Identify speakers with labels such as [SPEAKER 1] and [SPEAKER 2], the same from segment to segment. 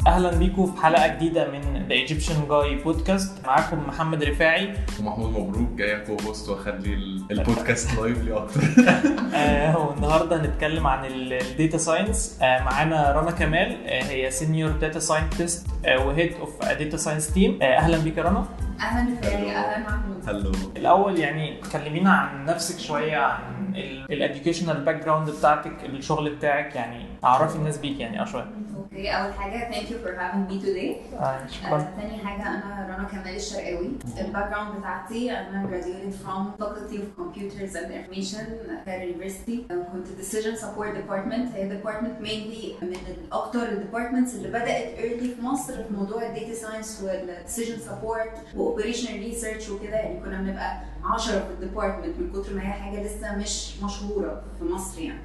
[SPEAKER 1] اهلا بيكم في حلقه جديده من The Egyptian Guy بودكاست. معاكم محمد رفاعي
[SPEAKER 2] ومحمود مبروك جاي كو-هوست واخلي البودكاست لايفلي اكتر.
[SPEAKER 1] والنهارده هنتكلم عن الداتا ساينس. معانا رنا كمال، هي سينيور داتا ساينتست وهيد اوف داتا ساينس تيم. اهلا بيك يا رنا.
[SPEAKER 3] اهلا رفاعي. اهلا محمود.
[SPEAKER 2] هلو.
[SPEAKER 1] الاول يعني كلمينا عن نفسك شويه، عن الاديوكيشنال باك جراوند بتاعتك، الشغل بتاعك، يعني اعرفي الناس بيك يعني شويه.
[SPEAKER 3] اوكي، اول حاجه thank you for having me today.
[SPEAKER 1] شكرا.
[SPEAKER 3] ثاني حاجه انا رنا كمال الشرقاوي. الباك جراوند بتاعتي انا graduated from Faculty of Computers and Information at University. كنت decision support department. هي department mainly من الاكتر الديبارتمنتس اللي بدات early في مصر في موضوع الداتا ساينس والديسيجن سبورت واوبريشنال ريسيرش وكده. يعني كنا بنبقى 10 في الديبارتمنت من كتر ما هي حاجه لسه مش مشهوره في مصر يعني.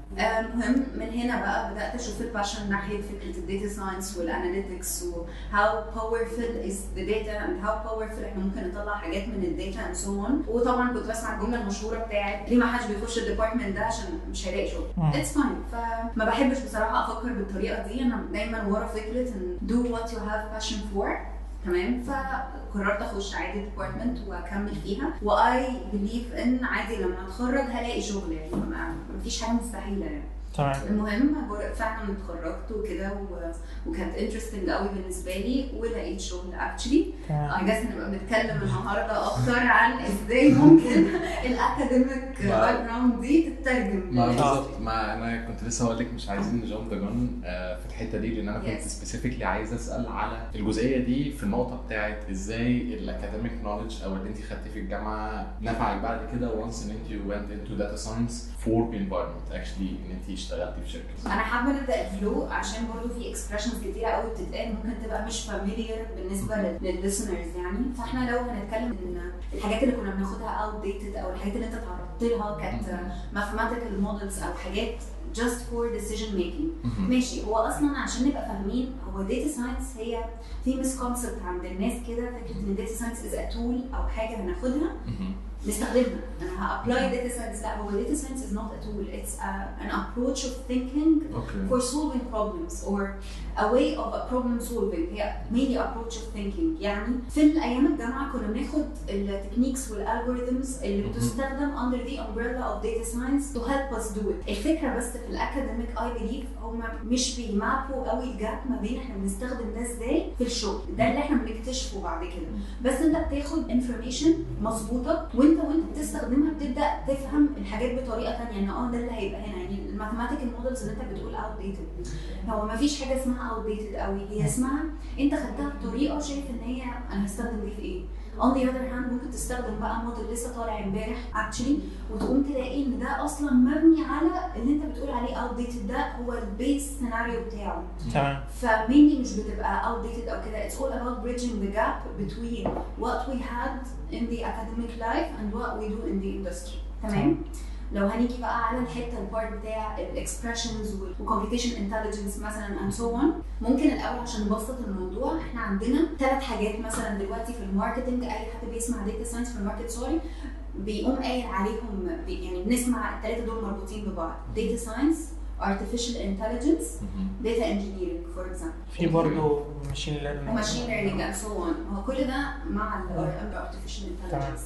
[SPEAKER 3] المهم من هنا بقى بدات اشوف الباشن ناحيه فكره الداتا ساينس والاناليتكس و how powerful is the data and how powerful احنا ممكن نطلع حاجات من الداتا and so on. وطبعا كنت بسمع الجمله المشهوره بتاعت ليه ما حدش بيخش الديبارتمنت ده عشان مش هيلاقي شغل. It's fine. فما بحبش بصراحه افكر بالطريقه دي. انا دايما ورا فكره ان do what you have passion for. تمام. فقررت اخش عادي ديبارتمنت واكمل فيها واي بليف ان عادي لما اتخرج هلاقي شغل. يعني مفيش حاجه مستحيله يعني.
[SPEAKER 1] تمام.
[SPEAKER 3] المهم فعلا اتخرجت وكده وكانت انترستنج قوي بالنسبه لي ولقيت شغل اكشلي. اي جاس نبقى بنتكلم النهارده اكتر عن ازاي ممكن الاكاديميك باك جراوند دي تترجم.
[SPEAKER 2] بالظبط. ما انا كنت لسه هقول لك مش عايزين نجامب ذا جون في الحته دي، لان انا كنت سبيسيفيكلي عايز اسال على الجزئيه دي في النقطه بتاعت ازاي الاكاديميك نوليدج او اللي انت خدتيه في الجامعه نفعك بعد كده وانس ان انت went into data science for environment actually ان انت اشتغلتي في شركه.
[SPEAKER 3] انا حابه نبدا الفلو عشان برضو في اكسبريشنز كتيره قوي بتتقال ممكن تبقى مش فاميليار بالنسبه للليسنرز. يعني فاحنا لو هنتكلم ان الحاجات اللي كنا بناخدها اوت ديتد او الحاجات اللي انت تعرضت لها كانت ماثيماتيكال مودلز او حاجات just for decision making. ماشي. هو اصلا عشان نبقى فاهمين هو data science هي في misconcept عند الناس كده، فكره ان data science is a tool او حاجه هناخدها نستخدمها. انا هابلاي data science. لا، هو data science is not a tool. It's an approach of thinking for solving problems or a way of problem solving. هي mainly approach of thinking. يعني في الايام الجامعه كنا بناخد التكنيكس والالجوريثمز اللي بتستخدم under the umbrella of data science to help us do it. الفكره بس في الاكاديميك I believe هم مش بيمابوا قوي الجاب ما بين احنا بنستخدم ده ازاي في الشغل. ده اللي احنا بنكتشفه بعد كده. بس انت بتاخد information مظبوطه وانت بتستخدمها بتبدا تفهم الحاجات بطريقه ثانيه. ان ده اللي هيبقى هنا. يعني الماثيماتيكال مودلز اللي انت بتقول اوت ديتد، هو ما فيش حاجه اسمها اوت ديتد قوي. هي اسمها انت خدتها بطريقه شايف ان هي انا هستخدم دي في ايه. on the other hand ممكن تستخدم بقى موديل لسه طالع امبارح actually وتقوم تلاقي ان ده اصلا مبني على اللي انت بتقول عليه اوت ديتد. ده هو البيس سيناريو بتاعه.
[SPEAKER 1] تمام.
[SPEAKER 3] فمينلي مش بتبقى اوت ديتد او كده. it's all about bridging the gap between what we had in the academic life and what we do in the industry. تمام. لو هنيجي بقى على الحته البارت بتاع الاكسبريشنز والكمبيوتيشن انتليجنس مثلا and so on، ممكن الاول عشان نبسط الموضوع احنا عندنا 3 حاجات مثلا دلوقتي في الماركتنج. اي حد بيسمع داتا ساينس في الماركت بيقوم قايل عليهم يعني بنسمع ال3 دول مربوطين ببعض. داتا ساينس، artificial intelligence, data engineering for example.
[SPEAKER 1] في برضه machine
[SPEAKER 3] learning and so on. هو كل ده مع artificial intelligence.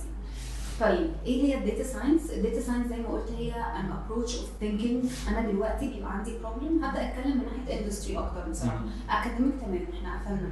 [SPEAKER 3] طيب ايه هي الداتا ساينس؟ الداتا ساينس زي ما قلت هي an approach of thinking. انا دلوقتي بيبقى عندي problem هبدا اتكلم من ناحيه اندستري اكتر بصراحه. اكاديميك تمام احنا قفلنا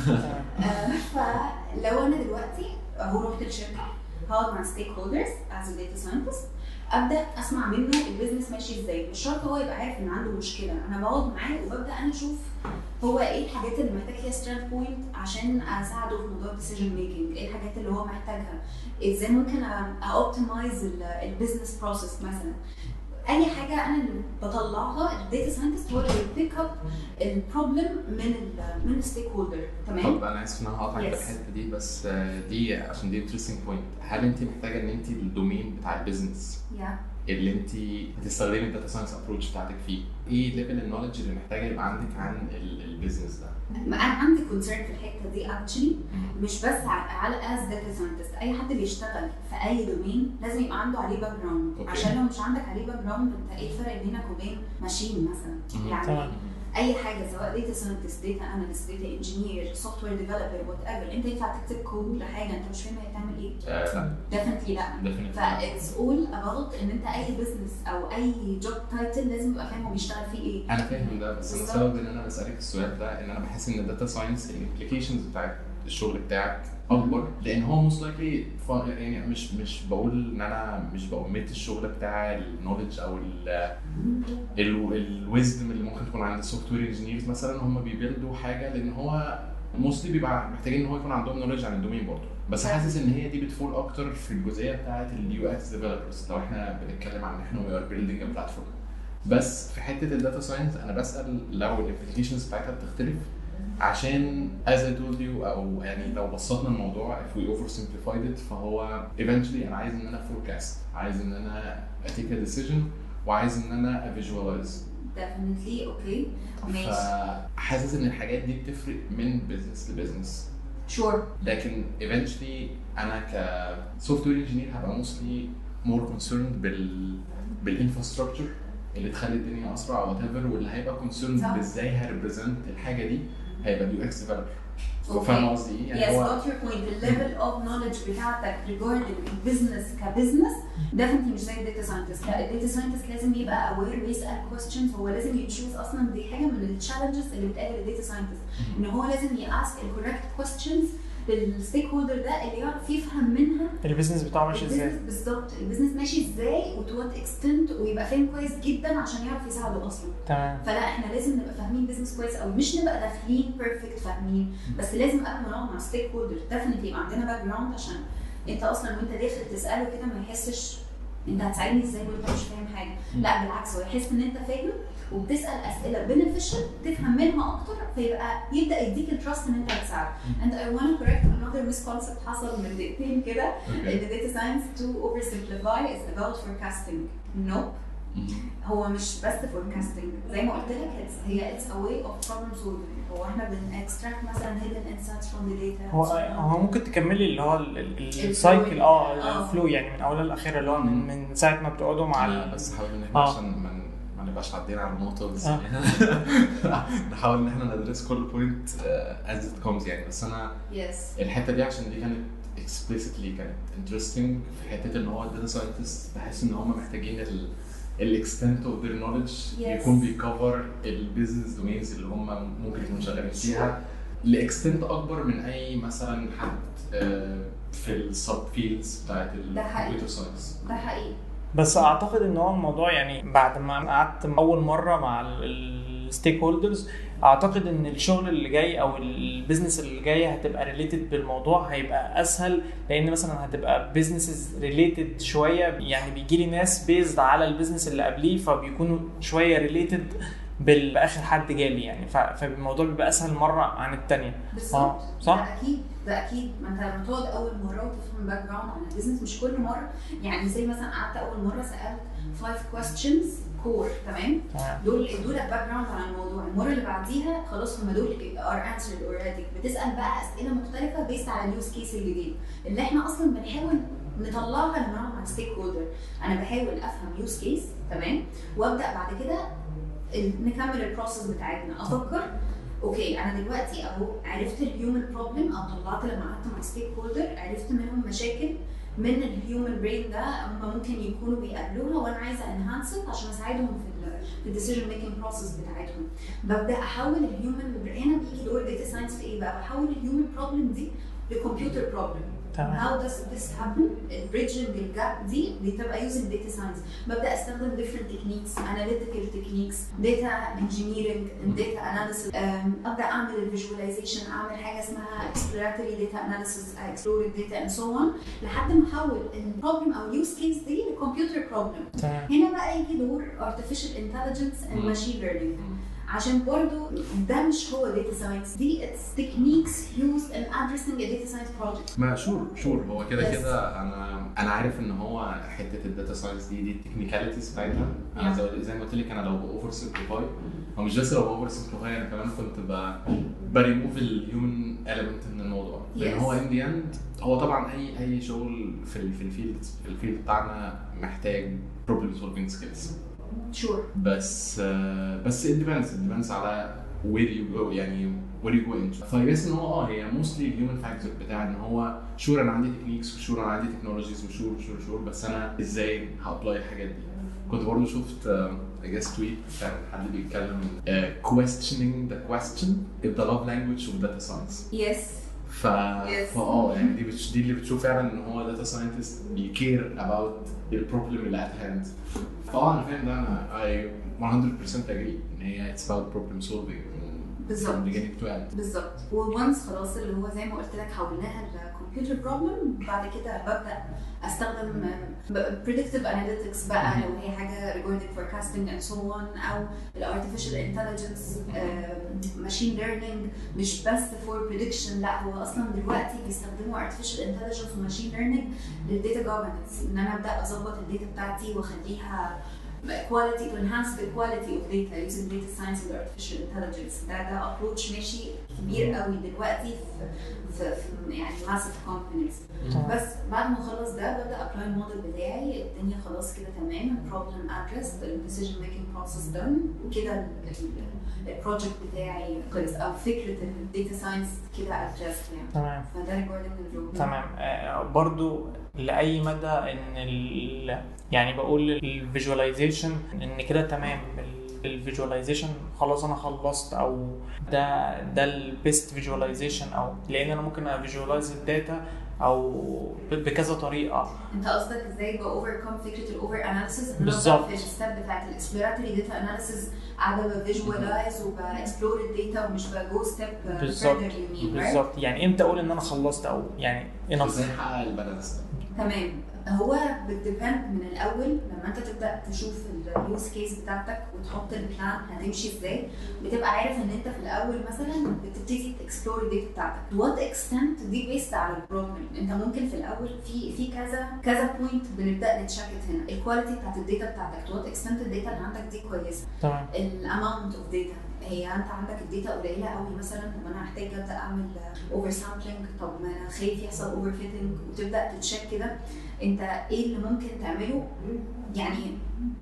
[SPEAKER 3] فلو انا دلوقتي هو رحت الشركه هقعد مع ستيك هولدرز as a data scientist، ابدا اسمع منه البيزنس ماشي ازاي. مش شرط هو يبقى عارف ان عنده مشكله، انا بقعد معاه وببدا انا اشوف هو ايه الحاجات اللي محتاج فيها ستراند بوينت عشان اساعده في موضوع الديسيجن ميكنج. ايه الحاجات اللي هو محتاجها، ازاي ممكن اوبتمايز البيزنس بروسيس مثلا. اي حاجه انا اللي بطلعها الداتا ساينتست هو اللي بيبيك اب البروبلم من الستيك هولدر. تمام.
[SPEAKER 2] طب انا اسف ان انا هقطعك في الحته دي، بس دي عشان دي انترستنج بوينت. هل انت محتاجه ان انت الدومين بتاع البيزنس اللي انت بتستخدمي الداتا ساينس ابروتش بتاعتك فيه، ايه ليفل النولج اللي محتاجه يبقى عندك عن البيزنس ده؟
[SPEAKER 3] انا عندي كونسيرن في الحته دي اكشلي، مش بس على از داتا ساينتست. اي حد بيشتغل في اي دومين لازم يبقى عنده عليه باك جراوند. عشان لو مش عندك عليه باك جراوند انت ايه الفرق بينك وبين ماشين مثلا؟ يعني اي حاجه سواء داتا ساينتست، داتا اناليست، داتا انجينير، سوفت وير ديفلوبر، وات ايفر، انت ينفع تكتب كود لحاجه انت مش فاهم هي بتعمل ايه؟
[SPEAKER 2] لا
[SPEAKER 3] ديفنتلي لا. فاتس اول اباوت ان انت اي بزنس او اي جوب تايتل لازم تبقى فاهم هو بيشتغل فيه ايه.
[SPEAKER 2] انا فاهم ده، بس انا السبب ان انا بسالك السؤال ده ان انا بحس ان الداتا ساينس الامبليكيشنز بتاعت الشغل بتاعك اكبر، لان هو موست لايكلي يعني مش بقول ان انا مش بأميت الشغل بتاع النولج او الويزدم اللي ممكن تكون عند السوفت وير انجينيرز مثلا، هم بيبيلدوا حاجه لان هو موستلي بيبقى محتاجين ان هو يكون عندهم نولج عن الدومين برضه، بس حاسس ان هي دي بتفول اكتر في الجزئيه بتاعت اليو اكس ديفلوبرز لو احنا بنتكلم عن احنا وي ار بيلدينج ا بلاتفورم. بس في حته الداتا ساينس انا بسال لو الابلكيشنز بتاعتها بتختلف، عشان as I told you او يعني لو بسطنا الموضوع if we oversimplified it فهو eventually انا عايز ان انا forecast، عايز ان انا take a decision، وعايز ان انا visualize.
[SPEAKER 3] definitely اوكي ماشي.
[SPEAKER 2] فحاسس ان الحاجات دي بتفرق من business لبزنس.
[SPEAKER 3] sure.
[SPEAKER 2] لكن eventually انا ك software engineer هبقى mostly more concerned بالinfrastructure اللي تخلي الدنيا اسرع او whatever، واللي هيبقى concerned بازاي هريبريزنت الحاجه دي هيبقى اليو اكس ديفلوبر. فاهم قصدي ايه؟
[SPEAKER 3] يعني هو got your point. the level of knowledge بتاعتك regarding business كبزنس definitely مش زي الداتا ساينتست. الداتا ساينتست لازم يبقى aware ويسال questions، هو لازم يتشوز اصلا. دي حاجه من التشالنجز اللي بتقابل الداتا ساينتست، ان هو لازم ياسك الكوريكت questions للستيك هولدر ده اللي يعرف يفهم منها
[SPEAKER 1] البيزنس بتاعه ماشي ازاي
[SPEAKER 3] بالظبط، البيزنس ماشي ازاي وتو وات اكستنت، ويبقى فاهم كويس جدا عشان يعرف يساعده اصلا.
[SPEAKER 1] تمام.
[SPEAKER 3] فلا احنا لازم نبقى فاهمين بيزنس كويس، او مش نبقى داخلين بيرفكت فاهمين، بس لازم قبل ما نقعد مع ستيك هولدر ديفنتلي يبقى عندنا باك جراوند، عشان انت اصلا وانت داخل تساله كده ما يحسش انت هتساعدني ازاي وانت مش فاهم حاجه. لا بالعكس، هو يحس ان انت فاهم وبتسال اسئله بينيفيشال تفهم منها اكتر، فيبقى يبدا يديك التراست ان انت هتساعده. and I want to correct another misconcept حصل من دقيقتين كده، ان data science to oversimplify is about forecasting. nope. هو مش بس forecasting، زي ما قلت لك هي it's a way of problem solving. هو احنا extract مثلا hidden insights from the data.
[SPEAKER 1] هو ممكن تكملي اللي هو السايكل الفلو يعني من اولها لاخرها، اللي هو من ساعه ما بتقعدوا مع
[SPEAKER 2] بس حاول ان احنا عشان ما نبقاش عدينا على النقطه بس نحاول ان احنا ندرس كل بوينت as it comes يعني. بس انا الحته دي عشان دي كانت explicitly كانت interesting في حته ان هو الداتا ساينتست بحس ان هم محتاجين الاكستنت اوف ذير نوليدج يكون بيكفر البيزنس دومينز اللي هم ممكن يكونوا شغالين فيها لاكستنت اكبر من اي مثلا حد في السب فيلدز بتاعت الكمبيوتر ساينس.
[SPEAKER 3] ده حقيقي.
[SPEAKER 1] بس اعتقد ان هو الموضوع يعني بعد ما قعدت اول مره مع الستيك هولدرز، اعتقد ان الشغل اللي جاي او البيزنس اللي جاي هتبقى ريليتد بالموضوع، هيبقى اسهل، لان مثلا هتبقى بيزنسز ريليتد شويه، يعني بيجي لي ناس بيزد على البيزنس اللي قبليه فبيكونوا شويه ريليتد بالاخر حد جالي يعني، فالموضوع بيبقى اسهل مره عن الثانيه.
[SPEAKER 3] صح. ده اكيد ما انت لما تقعد اول مره وتفهم باك جراوند عن البيزنس، مش كل مره يعني. زي مثلا قعدت اول مره سالت 5 questions كور، تمام؟ دول ادوا لك باك جراوند عن الموضوع. المره اللي بعديها خلاص هم دول ار انسرد اوريدي. بتسال بقى اسئله مختلفه بيست على اليوز كيس الجديد اللي احنا اصلا بنحاول نطلعها لما نقعد مع ستيك هولدر. انا بحاول افهم يوز كيس، تمام، وابدا بعد كده نكمل البروسيس بتاعتنا. افكر اوكي انا دلوقتي اهو عرفت الهيومن بروبلم، او طلعت لما قعدت مع ستيك هولدر عرفت منهم مشاكل من الهيومن برين ده هم ممكن يكونوا بيقابلوها، وانا عايزه انهانست عشان اساعدهم في الديسيجن ميكنج بروسيس بتاعتهم. ببدا احول الهيومن برين. هنا بيجي دور داتا ساينس في ايه بقى؟ بحول الهيومن بروبلم دي لكمبيوتر بروبلم. How does this happen? Bridging the gap دي بتبقى using data science. ببدأ استخدم different techniques, analytical techniques, data engineering, data analysis. أبدأ أعمل visualization، أعمل حاجة اسمها exploratory data analysis, explore data and so on، لحد ما أحول البروبلم أو use case دي لكمبيوتر problem. هنا بقى يجي دور artificial intelligence and machine learning. عشان برضو ده مش هو data science، دي it's techniques used in addressing a data science project.
[SPEAKER 2] ما شور هو كده انا عارف ان هو حته الداتا ساينس دي التكنيكاليتيز بتاعتها. انا زي ما قلت لك، انا لو اوفر سمبليفاي، هو مش بس لو اوفر سمبليفاي، انا كمان كنت بريموف الهيومن element من الموضوع. لان هو in the end هو طبعا اي شغل في الفيلد بتاعنا محتاج problem solving skills.
[SPEAKER 3] sure.
[SPEAKER 2] بس it depends على where you go يعني where you go into. فبس ان هو هي mostly الهيومن فاكتور بتاع ان هو شور انا عندي تكنيكس وشور انا عندي تكنولوجيز وشور بس انا ازاي هابلاي الحاجات دي. كنت برضه شفت I guess tweet كان حد بيتكلم questioning the question if the love language of data science.
[SPEAKER 3] Yes.
[SPEAKER 2] يعني دي اللي بتشوف فعلا ان هو داتا ساينتست بيكير about البروبلم اللي at hand. انا فاهم ده انا I 100% agree ان هي it's about problem solving
[SPEAKER 3] بالظبط بالظبط. وونس خلاص اللي هو زي ما قلت لك حولناها الكمبيوتر بروبلم، بعد كده ببدا استخدم predictive analytics بقى لو هي حاجه regarding forecasting and so on، او artificial intelligence machine learning مش بس for prediction، لا هو اصلا دلوقتي بيستخدموا artificial intelligence و machine learning للداتا governance، ان انا ابدا اظبط الداتا بتاعتي واخليها quality to enhance the quality of data using data science and artificial intelligence. ده approach ماشي كبير قوي دلوقتي في يعني massive companies. بس بعد ما اخلص ده ببدا apply الموديل بتاعي، الدنيا خلاص كده تمام، problem addressed، decision making process done، وكده البروجكت بتاعي خلص او فكره الداتا ساينس كده addressed يعني.
[SPEAKER 1] تمام.
[SPEAKER 3] فده regarding الجو.
[SPEAKER 1] تمام. برضو لاي مدى ان يعني بقول الفيجواليزيشن ان كده تمام، الفيجواليزيشن خلاص انا خلصت، او ده البيست فيجواليزيشن، او لان انا ممكن افيجواليز الداتا او بكذا طريقه.
[SPEAKER 3] انت قصدك ازاي باوفركم فكره الاوفر اناليسيس؟
[SPEAKER 1] بالظبط.
[SPEAKER 3] في الستيب بتاعت الاكسبلوراتوري داتا اناليسيس قاعده بفيجواليز وباكسبلور الداتا ومش بجو ستيب فيرذر يمين.
[SPEAKER 1] بالظبط. يعني امتى اقول ان انا خلصت، او يعني
[SPEAKER 2] ازاي احقق البالانس؟
[SPEAKER 3] تمام. هو بتديبند من الاول لما انت تبدا تشوف اليوز كيس بتاعتك وتحط البلان هتمشي ازاي، بتبقى عارف ان انت في الاول مثلا بتبتدي تكسبلور الداتا بتاعتك وات اكستنت دي بيست على البروبلم. انت ممكن في الاول في كذا بوينت بنبدا نتشاكت هنا، الكواليتي بتاعت الداتا بتاعتك، وات اكستنت الداتا اللي عندك دي كويسه،
[SPEAKER 1] تمام،
[SPEAKER 3] الاماونت اوف داتا، هي انت عندك الداتا قليله قوي مثلا، طب انا هحتاج ابدا اعمل اوفر سامبلينج، طب ما انا خايف يحصل اوفر فيتنج، وتبدا تتشيك كده انت ايه اللي ممكن تعمله. يعني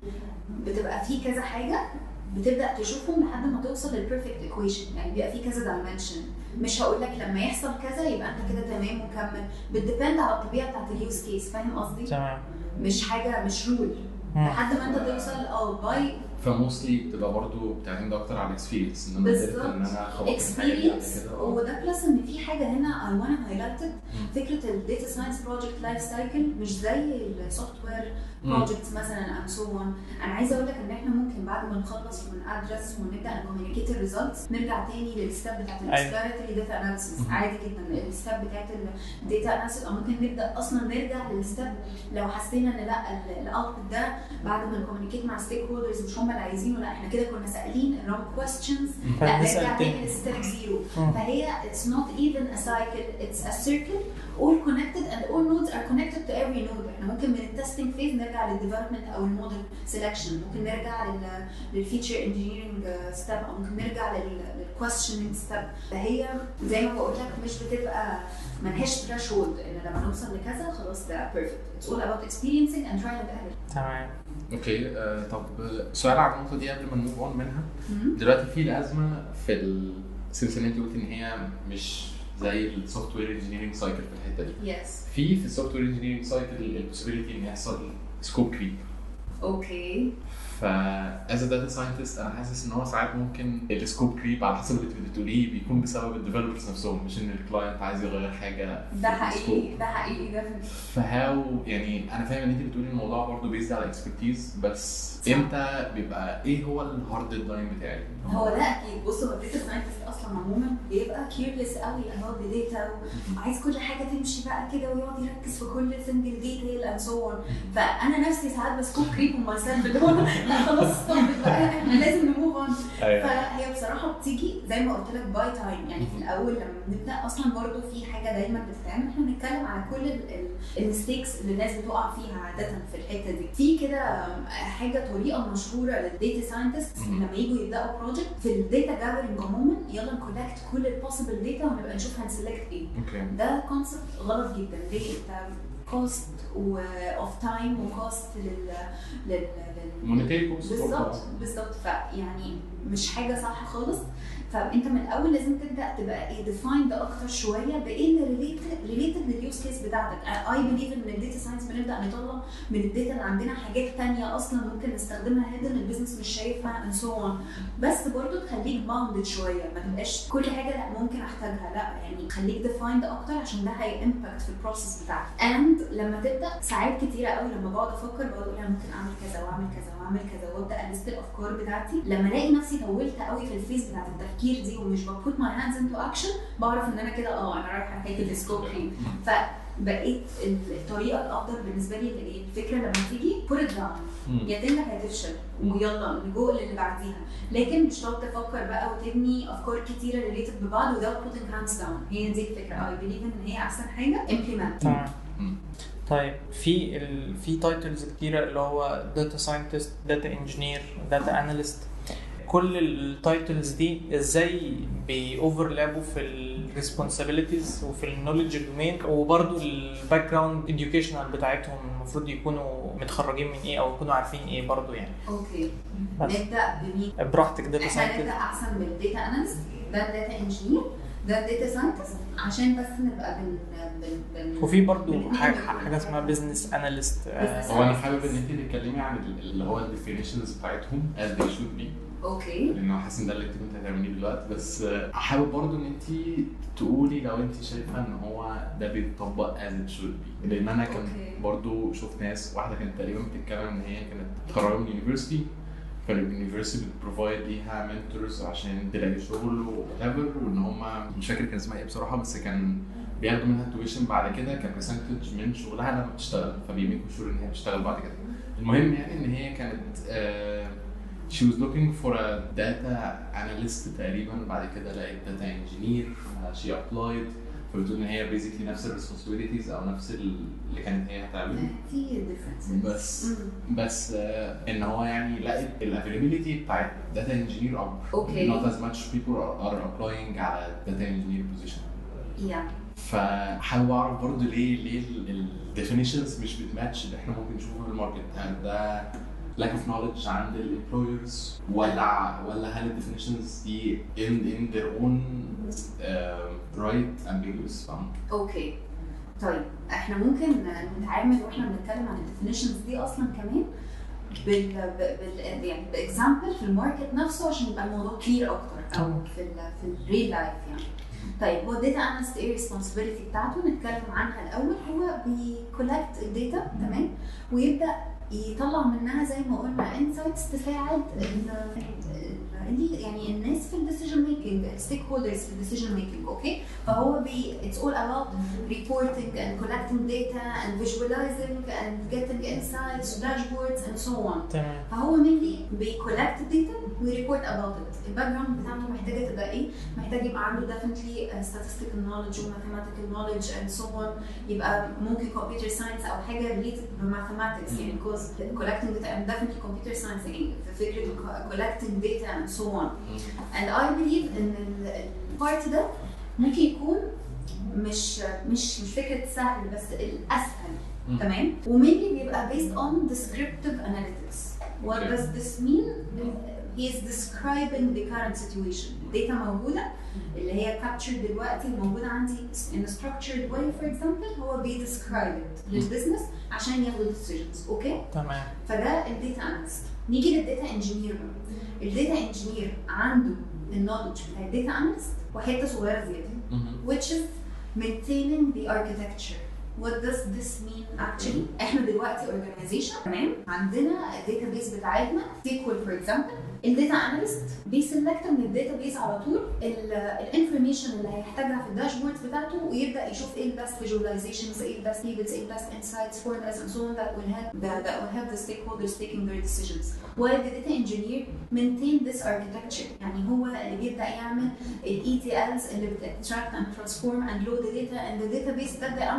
[SPEAKER 3] بتبقى في كذا حاجه بتبدا تشوفهم لحد ما توصل للبيرفكت ايكويشن، يعني بيبقى في كذا دايمنشن. مش هقول لك لما يحصل كذا يبقى انت كده تمام وكمل، بتديبند على الطبيعه بتاعت اليوز كيس، فاهم قصدي؟
[SPEAKER 1] تمام.
[SPEAKER 3] مش حاجه مش رول لحد ما انت توصل باي.
[SPEAKER 2] فموستلي بتبقى برضو بتعتمد اكتر على الاكسبيرينس، ان انا قدرت ان انا اخلص الحاجه دي قبل كده.
[SPEAKER 3] وده بلس ان في حاجه هنا اي وانا هايلايتد، فكره الداتا ساينس بروجكت لايف سايكل مش زي السوفت وير بروجكتس مثلا اند سو اون. انا عايزه اقول لك ان احنا ممكن بعد ما نخلص ونادرس ونبدا نكوميونيكيت الريزلتس نرجع تاني للستيب بتاعت الاكسبلوراتوري داتا اناليسيس عادي جدا، الستيب بتاعت الداتا اناليسيس، او ممكن نبدا اصلا نرجع للستيب لو حسينا ان لا الاوتبوت ده بعد ما نكوميونيكيت مع ستيك هولدرز مش هم اللي عايزينه، لا احنا كده كنا سائلين الرونج كويستشنز، لا نرجع تاني للستيب زيرو. فهي it's not even a cycle, it's a circle all connected and all nodes are connected to every node. احنا ممكن من التستنج فيز نرجع للديفلوبمنت او الموديل سيلكشن، ممكن نرجع للفيتشر انجينيرنج ستيب، او ممكن نرجع للكويستشننج ستيب. فهي زي ما بقول لك مش بتبقى ملهاش ثريشولد ان لما نوصل لكذا خلاص ده بيرفكت. It's all about experiencing and trying and error.
[SPEAKER 1] تمام.
[SPEAKER 2] اوكي. طب سؤال على النقطه دي قبل ما نموف اون منها. دلوقتي في الازمه في السلسله اللي انت قلت ان هي مش زي السوفت وير انجينيرنج سايكل في الحته دي. في السوفت وير انجينيرنج سايكل البوسيبيليتي ان يحصل سكوب كريب.
[SPEAKER 3] اوكي.
[SPEAKER 2] فاز داتا ساينتست انا حاسس ان هو ساعات ممكن السكوب كريب على حسب اللي بتقوليه بيكون بسبب الديفلوبرز نفسهم، مش ان الكلاينت عايز يغير حاجه.
[SPEAKER 3] ده حقيقي ده
[SPEAKER 2] فهاو يعني انا فاهم ان انت بتقولي الموضوع برضه بيزد على اكسبرتيز، بس امتى بيبقى ايه هو الهارد ديدلاين بتاعي؟
[SPEAKER 3] هو ده اكيد. بص هو الداتا ساينتست اصلا عموما بيبقى كيوريوس قوي about the data وعايز كل حاجه تمشي بقى كده ويقعد يركز في كل سنجل ديتيل اند سو اون. فانا نفسي ساعات بسكوب كريب وماي سيلف اللي هو لا خلاص بقى احنا لازم نموف اون. فهي بصراحه بتيجي زي ما قلت لك باي تايم، يعني في الاول لما بنبدا اصلا برضو في حاجه دايما بتتعمل، احنا بنتكلم على كل الميستيكس اللي الناس بتقع فيها عاده في الحته دي. في كده حاجه طريقه مشهوره للداتا ساينتست لما يجوا يبداوا بروجكت في الداتا جاذرنج عموما، يلا نكولكت كل البوسيبل داتا ونبقى نشوف هنسلكت ايه.
[SPEAKER 2] okay.
[SPEAKER 3] ده كونسبت غلط جدا. ليه؟ انت كوست واوف تايم وكوست لل
[SPEAKER 2] مونيتري كوست.
[SPEAKER 3] بالظبط. فيعني مش حاجه صح خالص. فانت من الاول لازم تبدا تبقى ايه ديفايند اكتر شويه بايه اللي ريليتد لليوز كيس بتاعتك. اي بليف ان الداتا ساينس بنبدا نطلع من الداتا اللي عندنا حاجات ثانيه اصلا ممكن نستخدمها هيدن البيزنس مش شايفها and so on. بس برضو تخليك باوندد شويه، ما تبقاش كل حاجه لا ممكن احتاجها، لا يعني خليك ديفايند اكتر عشان ده هي امباكت في البروسيس بتاعك. اند لما تبدا ساعات كتيره قوي لما بقعد افكر بقول انا ممكن اعمل كذا واعمل كذا واعمل كذا وابدا الست الافكار بتاعتي. لما الاقي نفسي طولت قوي في الفيز بتاعت التفكير دي ومش ببوت ماي هاندز انتو اكشن، بعرف ان انا كده انا رايحه ناحيه السكوبينج. فبقيت الطريقه الافضل بالنسبه لي اللي ايه الفكره لما تيجي put it down، يا تنجح يا تفشل ويلا نجو للي بعديها. لكن مش تقعد تفكر بقى وتبني افكار كتيره ريليتد ببعض without putting hands down. هي دي الفكره. I believe ان هي احسن حاجه implement.
[SPEAKER 1] طيب في تايتلز كتيره اللي هو داتا ساينتست، داتا انجينير، داتا اناليست. كل التايتلز دي ازاي بيوفرلابوا في الريسبونسابيلتيز وفي النوليدج دومين، وبرضو الباك جراوند اديوكيشنال بتاعتهم المفروض يكونوا متخرجين من ايه او يكونوا عارفين ايه برضو يعني.
[SPEAKER 3] اوكي نبدا بمين؟
[SPEAKER 1] براحتك. داتا
[SPEAKER 3] ساينتست نبدا احسن بالداتا اناليست، ده داتا انجينير، ده داتا ساينتست، عشان بس نبقى
[SPEAKER 1] وفي برضو حاجه اسمها بزنس اناليست.
[SPEAKER 2] هو انا حابب ان انت تتكلمي عن اللي هو الديفينيشنز بتاعتهم as they should be.
[SPEAKER 3] اوكي.
[SPEAKER 2] لانه حاسس ان ده اللي كنت هتعمليه دلوقتي، بس حابب برضو ان انت تقولي لو انت شايفه ان هو ده بيتطبق as it should be. لان انا كان برضو شفت ناس، واحده كانت تقريبا بتتكلم ان هي كانت متخرجه من اليونيفرسيتي، فاليونيفرسيتي بتبروفايد ليها منتورز عشان تلاقي شغل وهافر، وان هم مش فاكر كان اسمها ايه بصراحه، بس كان بياخدوا منها تويشن بعد كده كبرسنتج من شغلها لما بتشتغل، فبيميكوا شور ان هي بتشتغل بعد كده. المهم يعني ان هي كانت she was looking for a data analyst تقريبا، بعد كده لقيت data engineer she applied، فبتقول ان هي basically نفس responsibilities او نفس اللي كانت هي هتعمله.
[SPEAKER 3] في differences
[SPEAKER 2] بس ان هو يعني لقيت الavailability بتاعت data engineer not as much people are applying على data engineer position. فحابب اعرف برضه ليه الديفينيشنز مش بتماتش اللي احنا ممكن نشوفه في الماركت. هل ده lack of knowledge عند الامبلويرز ولا هل الديفينيشنز دي in their own right ambiguous؟
[SPEAKER 3] اوكي طيب احنا ممكن نتعامل واحنا بنتكلم عن الديفينيشنز دي اصلا كمان يعني باكزامبل في الماركت نفسه عشان يبقى الموضوع كلير اكتر، او في الريل لايف يعني. طيب هو الداتا اناليست ايه الريسبونسبيلتي بتاعته؟ نتكلم عنها الاول. هو بيكولكت الداتا تمام، ويبدا يطلع منها زي ما قلنا انسايتس تساعد يعني الناس في الديسيجن ميكنج، الستيك هولدرز في الديسيجن ميكنج. اوكي، فهو it's all about reporting and collecting data and visualizing and getting insights, dashboards and so on. فهو mainly بيكولكت الداتا ويريبورت about it. الباك جراوند بتاعته محتاجه تبقى ايه؟ محتاج يبقى عنده definitely statistical knowledge و mathematical knowledge and so on. يبقى ممكن computer science او حاجه related ب mathematics يعني because collecting data and definitely computer science يعني في فكره collecting data and so on. And I believe ان البارت ده ممكن يكون مش فكره سهل بس الاسهل. تمام، ومينلي بيبقى based on descriptive analytics. What does this mean? He is describing the current situation. Data موجودة اللي هي captured دلوقتي موجودة عندي in a structured way for example، هو describe it للبزنس عشان ياخدوا decisions. اوكي
[SPEAKER 1] تمام.
[SPEAKER 3] فده الداتا اناليست. نيجي للداتا انجينير بقى. الداتا انجينير عنده النولج بتاع الداتا اناليست وحته صغيره زياده which is maintaining the architecture. What does this mean actually؟ احنا دلوقتي organization تمام، عندنا الداتابيس بتاعتنا SQL for example. الداتا اناليست بيسلكت من الداتابيس على طول الانفورميشن اللي هيحتاجها في الداشبورد بتاعته، ويبدا يشوف ايه البست فيجواليزيشنز، ايه البست تيبلز، ايه البست انسايتس، فورمولاز and so on that will help the stakeholders taking their decisions. While the data engineer maintain this architecture، يعني هو اللي بيبدا يعمل ال ETLs اللي بتextract and transform and load the data in the database that the analyst is going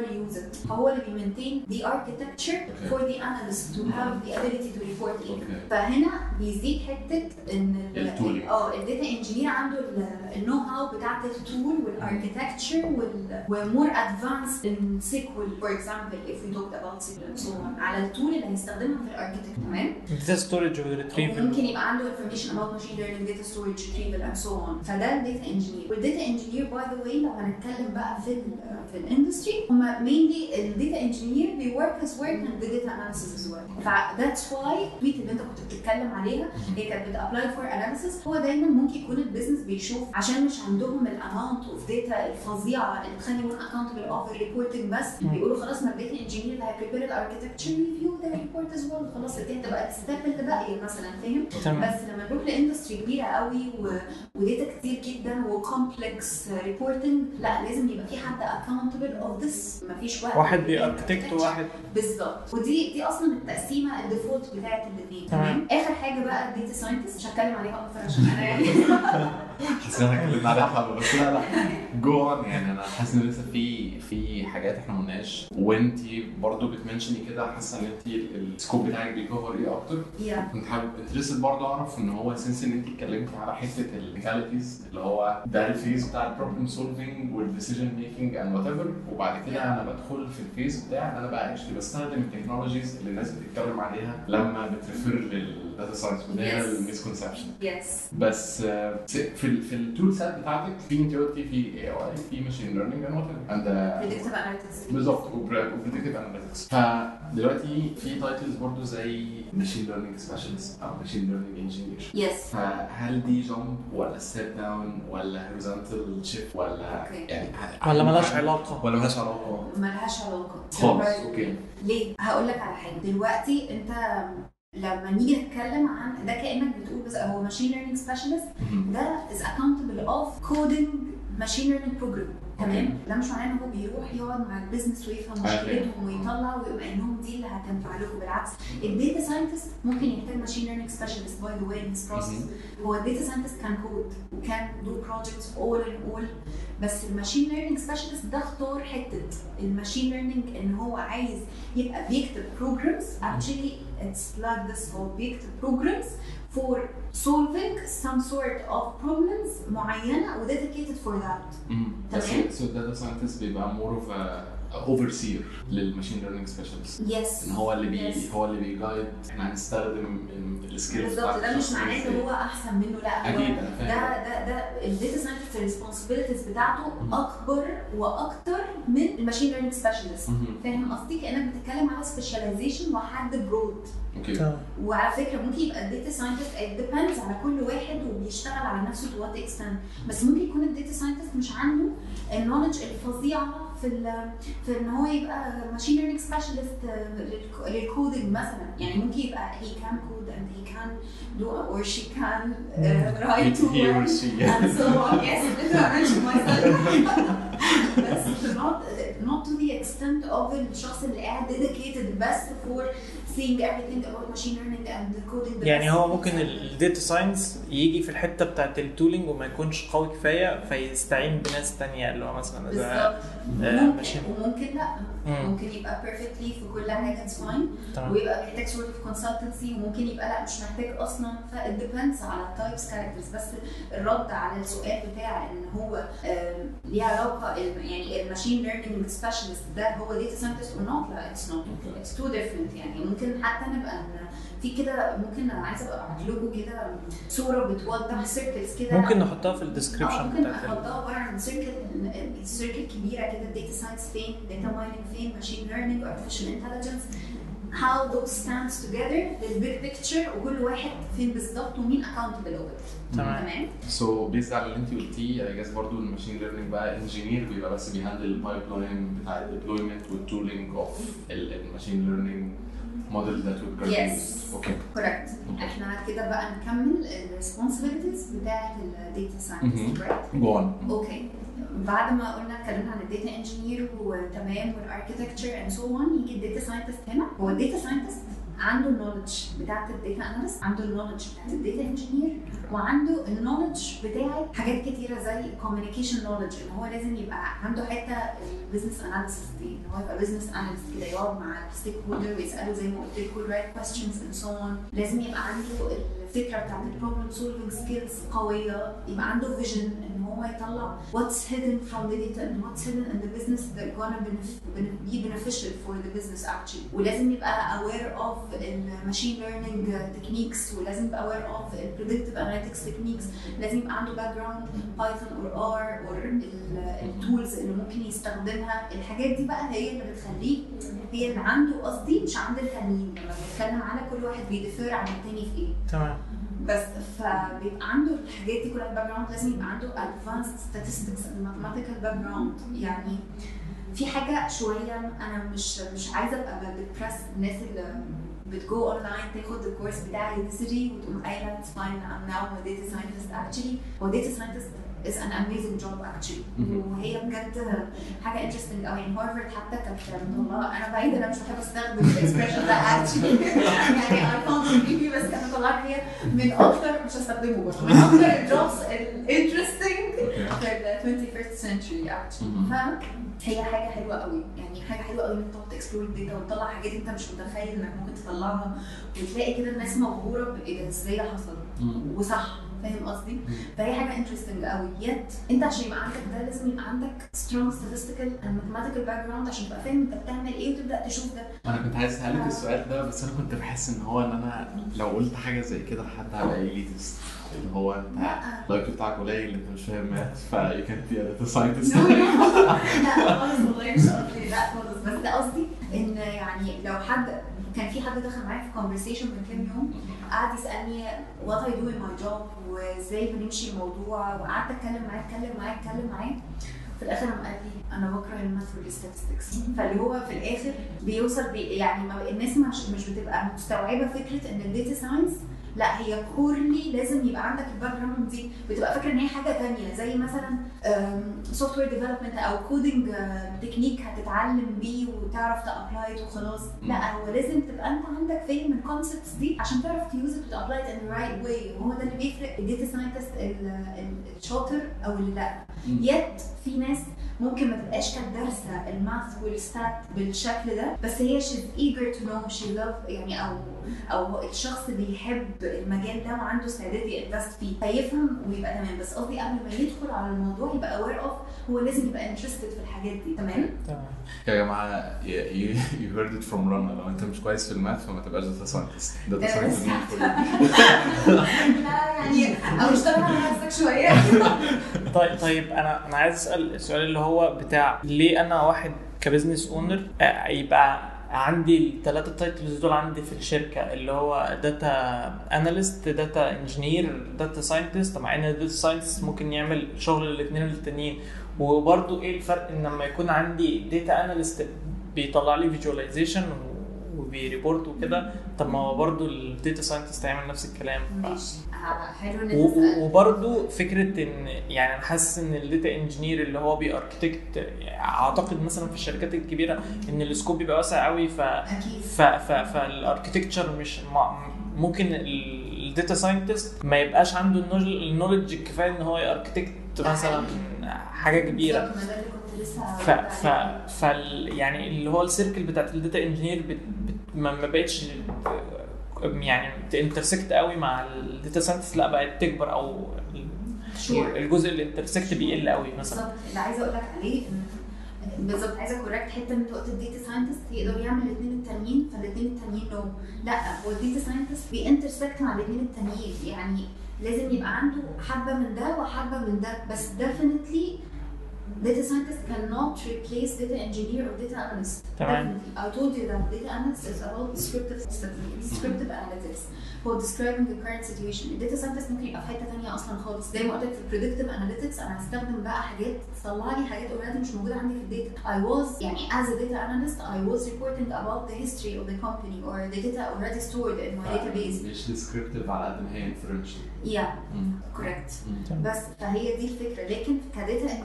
[SPEAKER 3] gonna use it. هو اللي بيمنتين the architecture for the analyst to have the ability to report it. فهنا بيزيد حته ان الداتا انجينير عنده النو هاو بتاعت التول والاركتكتشر ومور ادفانس ان سيكوال فور اكزامبل if we talked about SQL and so on على التول اللي هيستخدمها في الاركتكت. تمام.
[SPEAKER 1] data storage والretrieval
[SPEAKER 3] ممكن يبقى عنده information about machine learning, data storage, retrieval and so on. فده الداتا انجينير. والداتا انجينير باي ذا واي لو هنتكلم بقى في الاندستري هم mainly الداتا انجينير they work as work and the data analysis as well. فذاتس واي التويت اللي انت كنت بتتكلم عليها هي كانت بتابلاي فور اناليسيس. هو دايما ممكن يكون البيزنس بيشوف عشان مش عندهم الاماونت اوف داتا الفظيعه اللي بتخلي يكون اكونتبل اوف الريبورتنج بس بيقولوا خلاص ما الداتا انجينير اللي هيبريبير الاركتكتشر ريفيو ذا ريبورت از ويل خلاص دي هتبقى الستيب اللي باقيه مثلا فاهم. بس لما نروح لاندستري كبيره قوي وداتا كتير جدا وكومبلكس ريبورتنج لا لازم يبقى في حد اكونتبل اوف ذس. مفيش
[SPEAKER 1] واحد بياركتكت وواحد
[SPEAKER 3] بالظبط. ودي اصلا التقسيمه الديفولت بتاعت الاثنين. تمام. اخر حاجه بقى الداتا ساينتست مش هتكلم عليها اكتر عشان انا يعني
[SPEAKER 2] حاسس ان احنا اتكلمنا عليها بس لا جوه يعني انا حاسس ان لسه في حاجات احنا ما قلناش وانتي برضو بتمنشني كده حاسه ان انتي السكوب بتاعك بيكفر ايه اكتر. كنت حابب انترستد برضو اعرف ان هو سنس ان انتي اتكلمتي على حته التكنيكاليتيز اللي هو ده الفيز بتاع البروبلم سولفينج والديسيجن ميكنج اند وات ايفر وبعد كده انا بدخل في الفيز بتاع ان انا بقى اكشلي بستخدم التكنولوجيز اللي الناس بتتكلم عليها لما بتريفير للداتا ساينس وده الميسكونسبشن. بس في التول سيت بتاعتك في انت قلتي في اي اي في ماشين ليرنينج اند
[SPEAKER 3] بريدكتيف اناليتكس
[SPEAKER 2] بالظبط وبريدكتيف اناليتكس. فدلوقتي في تايتلز برضو زي ماشين ليرنينج سبيشالست او ماشين ليرنينج انجينير. فهل دي جامب ولا ستيب داون ولا هوريزونتال شيفت ولا يعني
[SPEAKER 1] ولا مالهاش علاقه
[SPEAKER 3] مالهاش علاقه
[SPEAKER 2] خالص؟ اوكي
[SPEAKER 3] ليه؟ هقول لك على حاجه. دلوقتي انت لما نيجي نتكلم عن ده كأنك بتقول بس هو ماشين ليرنينج سبيشالست ده is accountable of coding machine learning program. تمام. ده مش معناه ان هو بيروح يقعد مع البيزنس ويفهم مشكلتهم ويطلع ويقوم قايل لهم دي اللي هتنفع لكم. بالعكس الداتا ساينتست ممكن يحتاج ماشين ليرنينج سبيشالست باي ذا واي ان ذس بروسيس. هو الداتا ساينتست كان كود وكان دو بروجكتس اول ان اول بس الماشين ليرنينج سبيشالست ده اختار حته الماشين ليرنينج ان هو عايز يبقى بيكتب بروجرامز. actually it's like this هو بيكتب بروجرامز for solving some sort of problems معينة و dedicated for that.
[SPEAKER 2] تمام. So data scientist بيبقى more of a overseer للماشين ليرنينج سبيشالست.
[SPEAKER 3] يس.
[SPEAKER 2] ان هو اللي هو اللي بيجايد احنا هنستخدم السكيلز
[SPEAKER 3] بالظبط. ده مش معناه ان هو احسن منه لا
[SPEAKER 2] اكيد انا فاهم.
[SPEAKER 3] ده الداتا ساينتست الريسبونسبيلتيز بتاعته اكبر واكتر من الماشين ليرنينج سبيشالست. فاهم قصدي؟ كانك بتتكلم على سبيشاليزيشن وحد برود.
[SPEAKER 2] اوكي.
[SPEAKER 3] وعلى فكره ممكن يبقى الداتا ساينتست ديبندز على كل واحد وبيشتغل على نفسه تو وات اكستنت. بس ممكن يكون الداتا ساينتست مش عنده النولج الفظيعه في ان هو يبقى ماشين ليرنينج سبيشالست للكودينج مثلا. يعني ممكن يبقى he can code and he can do or she can write to work and so on. Yes, I mentioned myself. بس not to the extent of الشخص اللي قاعد dedicated بس for seeing everything about machine learning and coding.
[SPEAKER 1] يعني هو ممكن الداتا ساينس يجي في الحته بتاعت التولينج وما يكونش قوي كفايه فيستعين بناس تانية اللي هو مثلا
[SPEAKER 3] ممكن لا ممكن يبقى perfectly في كل حاجه it's fine ويبقى محتاج sort of consultancy وممكن يبقى لا مش محتاج اصلا. ف it depends على التايبس كاركترز. بس الرد على السؤال بتاع ان هو ليه علاقه يعني الماشين ليرنينج سبيشالست ده هو داتا ساينتست or not لا it's not. it's too different. يعني ممكن حتى نبقى في كده ممكن انا عايزه ابقى ابعت لكم كده صوره بتوضح سيركلز كده
[SPEAKER 1] ممكن نحطها في الديسكربشن
[SPEAKER 3] ممكن احطها عباره عن سيركل كبيره كده الداتا ساينس فين داتا مايننج فين ماشين ليرنينج ارتفيشال انتليجنس how those stands together البيج بيكتشر وكل واحد فين بالظبط ومين accountable over. تمام.
[SPEAKER 2] سو بيز على اللي انت قلتيه اي جاس برضو الماشين ليرنينج بقى انجينير بيبقى بس بيهندل البايب لاين بتاع الديبلويمنت والتولينج اوف الماشين ليرنينج موديل ذات ويل
[SPEAKER 3] كريت. اوكي كوركت. احنا كده بقى نكمل الريسبونسبيلتيز بتاعه الداتا ساينس.
[SPEAKER 2] جو اون.
[SPEAKER 3] اوكي. بعد ما قلنا اتكلمنا عن الداتا انجينير وتمام والاركتكتشر اند سو اون يجي الداتا ساينتست. هنا هو الداتا ساينتست عنده النولج بتاعت الداتا اناليست، عنده النولج بتاعت الداتا انجينير، وعنده النولج بتاعت حاجات كتيره زي كوميونيكيشن نولج، ان هو لازم يبقى عنده حته البيزنس اناليسيس دي، ان هو يبقى بيزنس اناليست كده يقعد مع الستيك هولدر ويساله زي ما قلت لكم رايت كويستشنز اند سو اون. لازم يبقى عنده الفكره بتاعت البروبلم سولفنج سكيلز قويه، يبقى عنده فيجن ان هو يطلع what's hidden from the data and what's hidden in the business that gonna be beneficial for the business actually. ولازم يبقى aware of الماشين learning techniques، ولازم يبقى aware of predictive analytics techniques. لازم يبقى عنده background Python or R or التولز اللي ممكن يستخدمها. الحاجات دي بقى هي اللي بتخليه هي اللي عنده، قصدي مش عند التانيين، لما بنتكلم على كل واحد بيدفر عن التاني في ايه.
[SPEAKER 1] تمام.
[SPEAKER 3] بس فبيبقى عنده الحاجات دي كلها باك جراوند. لازم يبقى عنده advanced statistics and mathematical background. يعني في حاجه شويه انا مش عايزه ابقى بدبرس الناس اللي بتجو اونلاين تاخد الكورس بتاع يوديسيتي وتقوم قايله it's fine I'm now a data scientist. actually هو data scientist is an amazing job actually. وهي بجد حاجه interesting قوي. يعني هارفارد حتى كانت مطلعه، انا بعيد انا مش بحب استخدم الاكسبريشن ده actually يعني I found it بس كانت مطلعه هي من اكتر، مش هستخدمه برضه، من اكتر الجوبز الانترستنج في ال 21st century actually. فهي حاجه حلوه قوي، يعني حاجه حلوه قوي انك تقعد تكسبلور الداتا وتطلع حاجات انت مش متخيل انك ممكن تطلعها، وتلاقي كده الناس مبهوره بايه ده ازاي ده حصل وصح. فاهم قصدي؟ فهي حاجه انترستنج قوي. يت انت عشان يبقى عندك ده لازم يبقى عندك strong statistical and mathematical background عشان تبقى فاهم انت بتعمل ايه وتبدا تشوف ده.
[SPEAKER 2] انا كنت عايز اسالك السؤال ده، بس انا كنت بحس ان هو ان انا لو قلت حاجه زي كده لحد هبقى ايليتست، اللي هو انت اللايك بتاعك قليل، انت مش فاهم ماث فيو كانت بي داتا ساينتست.
[SPEAKER 3] لا خالص والله مش قصدي، لا خالص، بس قصدي ان يعني لو حد كان في حد دخل معايا في conversation من كام يوم قعد يسالني what I do in my job وازاي بنمشي الموضوع، وقعدت اتكلم معاه في الاخر قام قال لي انا بكره الماث والستاتستكس. فاللي هو في الاخر بيوصل يعني الناس مش بتبقى مستوعبه فكره ان الداتا ساينس لا هي كورلي لازم يبقى عندك الباك جراوند دي، بتبقى فاكره ان هي حاجه ثانيه زي مثلا سوفت وير ديفلوبمنت او كودنج تكنيك هتتعلم بيه وتعرف تابلايت وخلاص. لا هو لازم تبقى انت عندك فهم من الكونسبتس دي عشان تعرف تيوز ات وتابلايت ان رايت واي، وهو ده اللي بيفرق الداتا ساينتست الشاطر او اللي لا. يت في ناس ممكن ما تبقاش كانت دارسه الماث والستات بالشكل ده، بس هي she's eager to know she love يعني او الشخص بيحب المجال ده وعنده استعداد ينفست فيه فيفهم ويبقى تمام. بس قصدي قبل ما يدخل على الموضوع يبقى aware of هو لازم يبقى interested في الحاجات دي. تمام
[SPEAKER 2] يا جماعه you heard it from Rana، لو انت مش كويس في الماث فما تبقاش داتا ساينتست. داتا ساينتست
[SPEAKER 3] لا يعني او اشتغل على نفسك شويه.
[SPEAKER 1] طيب انا عايز اسال السؤال اللي هو بتاع ليه انا واحد كبزنس اونر يبقى عندي الثلاثه تايتلز دول عندي في الشركه، اللي هو داتا اناليست، داتا انجينير، داتا ساينتست، مع ان الداتا ساينتست ممكن يعمل شغل الاثنين التانيين. وبرده ايه الفرق ان لما يكون عندي داتا اناليست بيطلع لي فيجواليزيشن وبيريبورت وكده، طب ما هو برضه الداتا ساينتست هيعمل نفس الكلام.
[SPEAKER 3] حلو.
[SPEAKER 1] وبرضه فكره ان يعني انا حاسس ان الداتا انجينير اللي هو بياركتكت، اعتقد مثلا في الشركات الكبيره ان السكوب بيبقى واسع قوي، فالاركتكتشر مش ممكن الداتا ساينتست ما يبقاش عنده النولج الكفايه ان هو ياركتكت مثلا حاجه كبيره. يعني اللي هو السيركل بتاعت الداتا انجينير ما بقتش يعني تانترسكت قوي مع الداتا ساينتست، لا بقت تكبر او الجزء اللي انترسكت بيقل قوي مثلا.
[SPEAKER 3] بالظبط اللي عايزه اقول لك عليه بالظبط، عايزه كوركت حته من وقت الداتا ساينتست يقدر يعمل الاثنين التانيين، فالاثنين التانيين لو لا هو الداتا ساينتست بينترسكت مع الاثنين التانيين، يعني لازم يبقى عنده حبه من ده وحبه من ده. بس definitely data scientist cannot replace data engineer or data analyst. Definitely. I told you that data analyst is about descriptive analytics. هو describing the current situation. الداتا scientist ممكن يبقى في حته ثانيه اصلا خالص. زي ما قلت لك في predictive analytics انا هستخدم بقى حاجات تطلع لي حاجات already مش موجوده عندي في الداتا. I was يعني as a data analyst I was reporting about the history of the company or the data already stored in my database.
[SPEAKER 2] مش descriptive على قد ما هي inferential.
[SPEAKER 3] Yeah, correct. بس فهي دي الفكره. لكن كداتا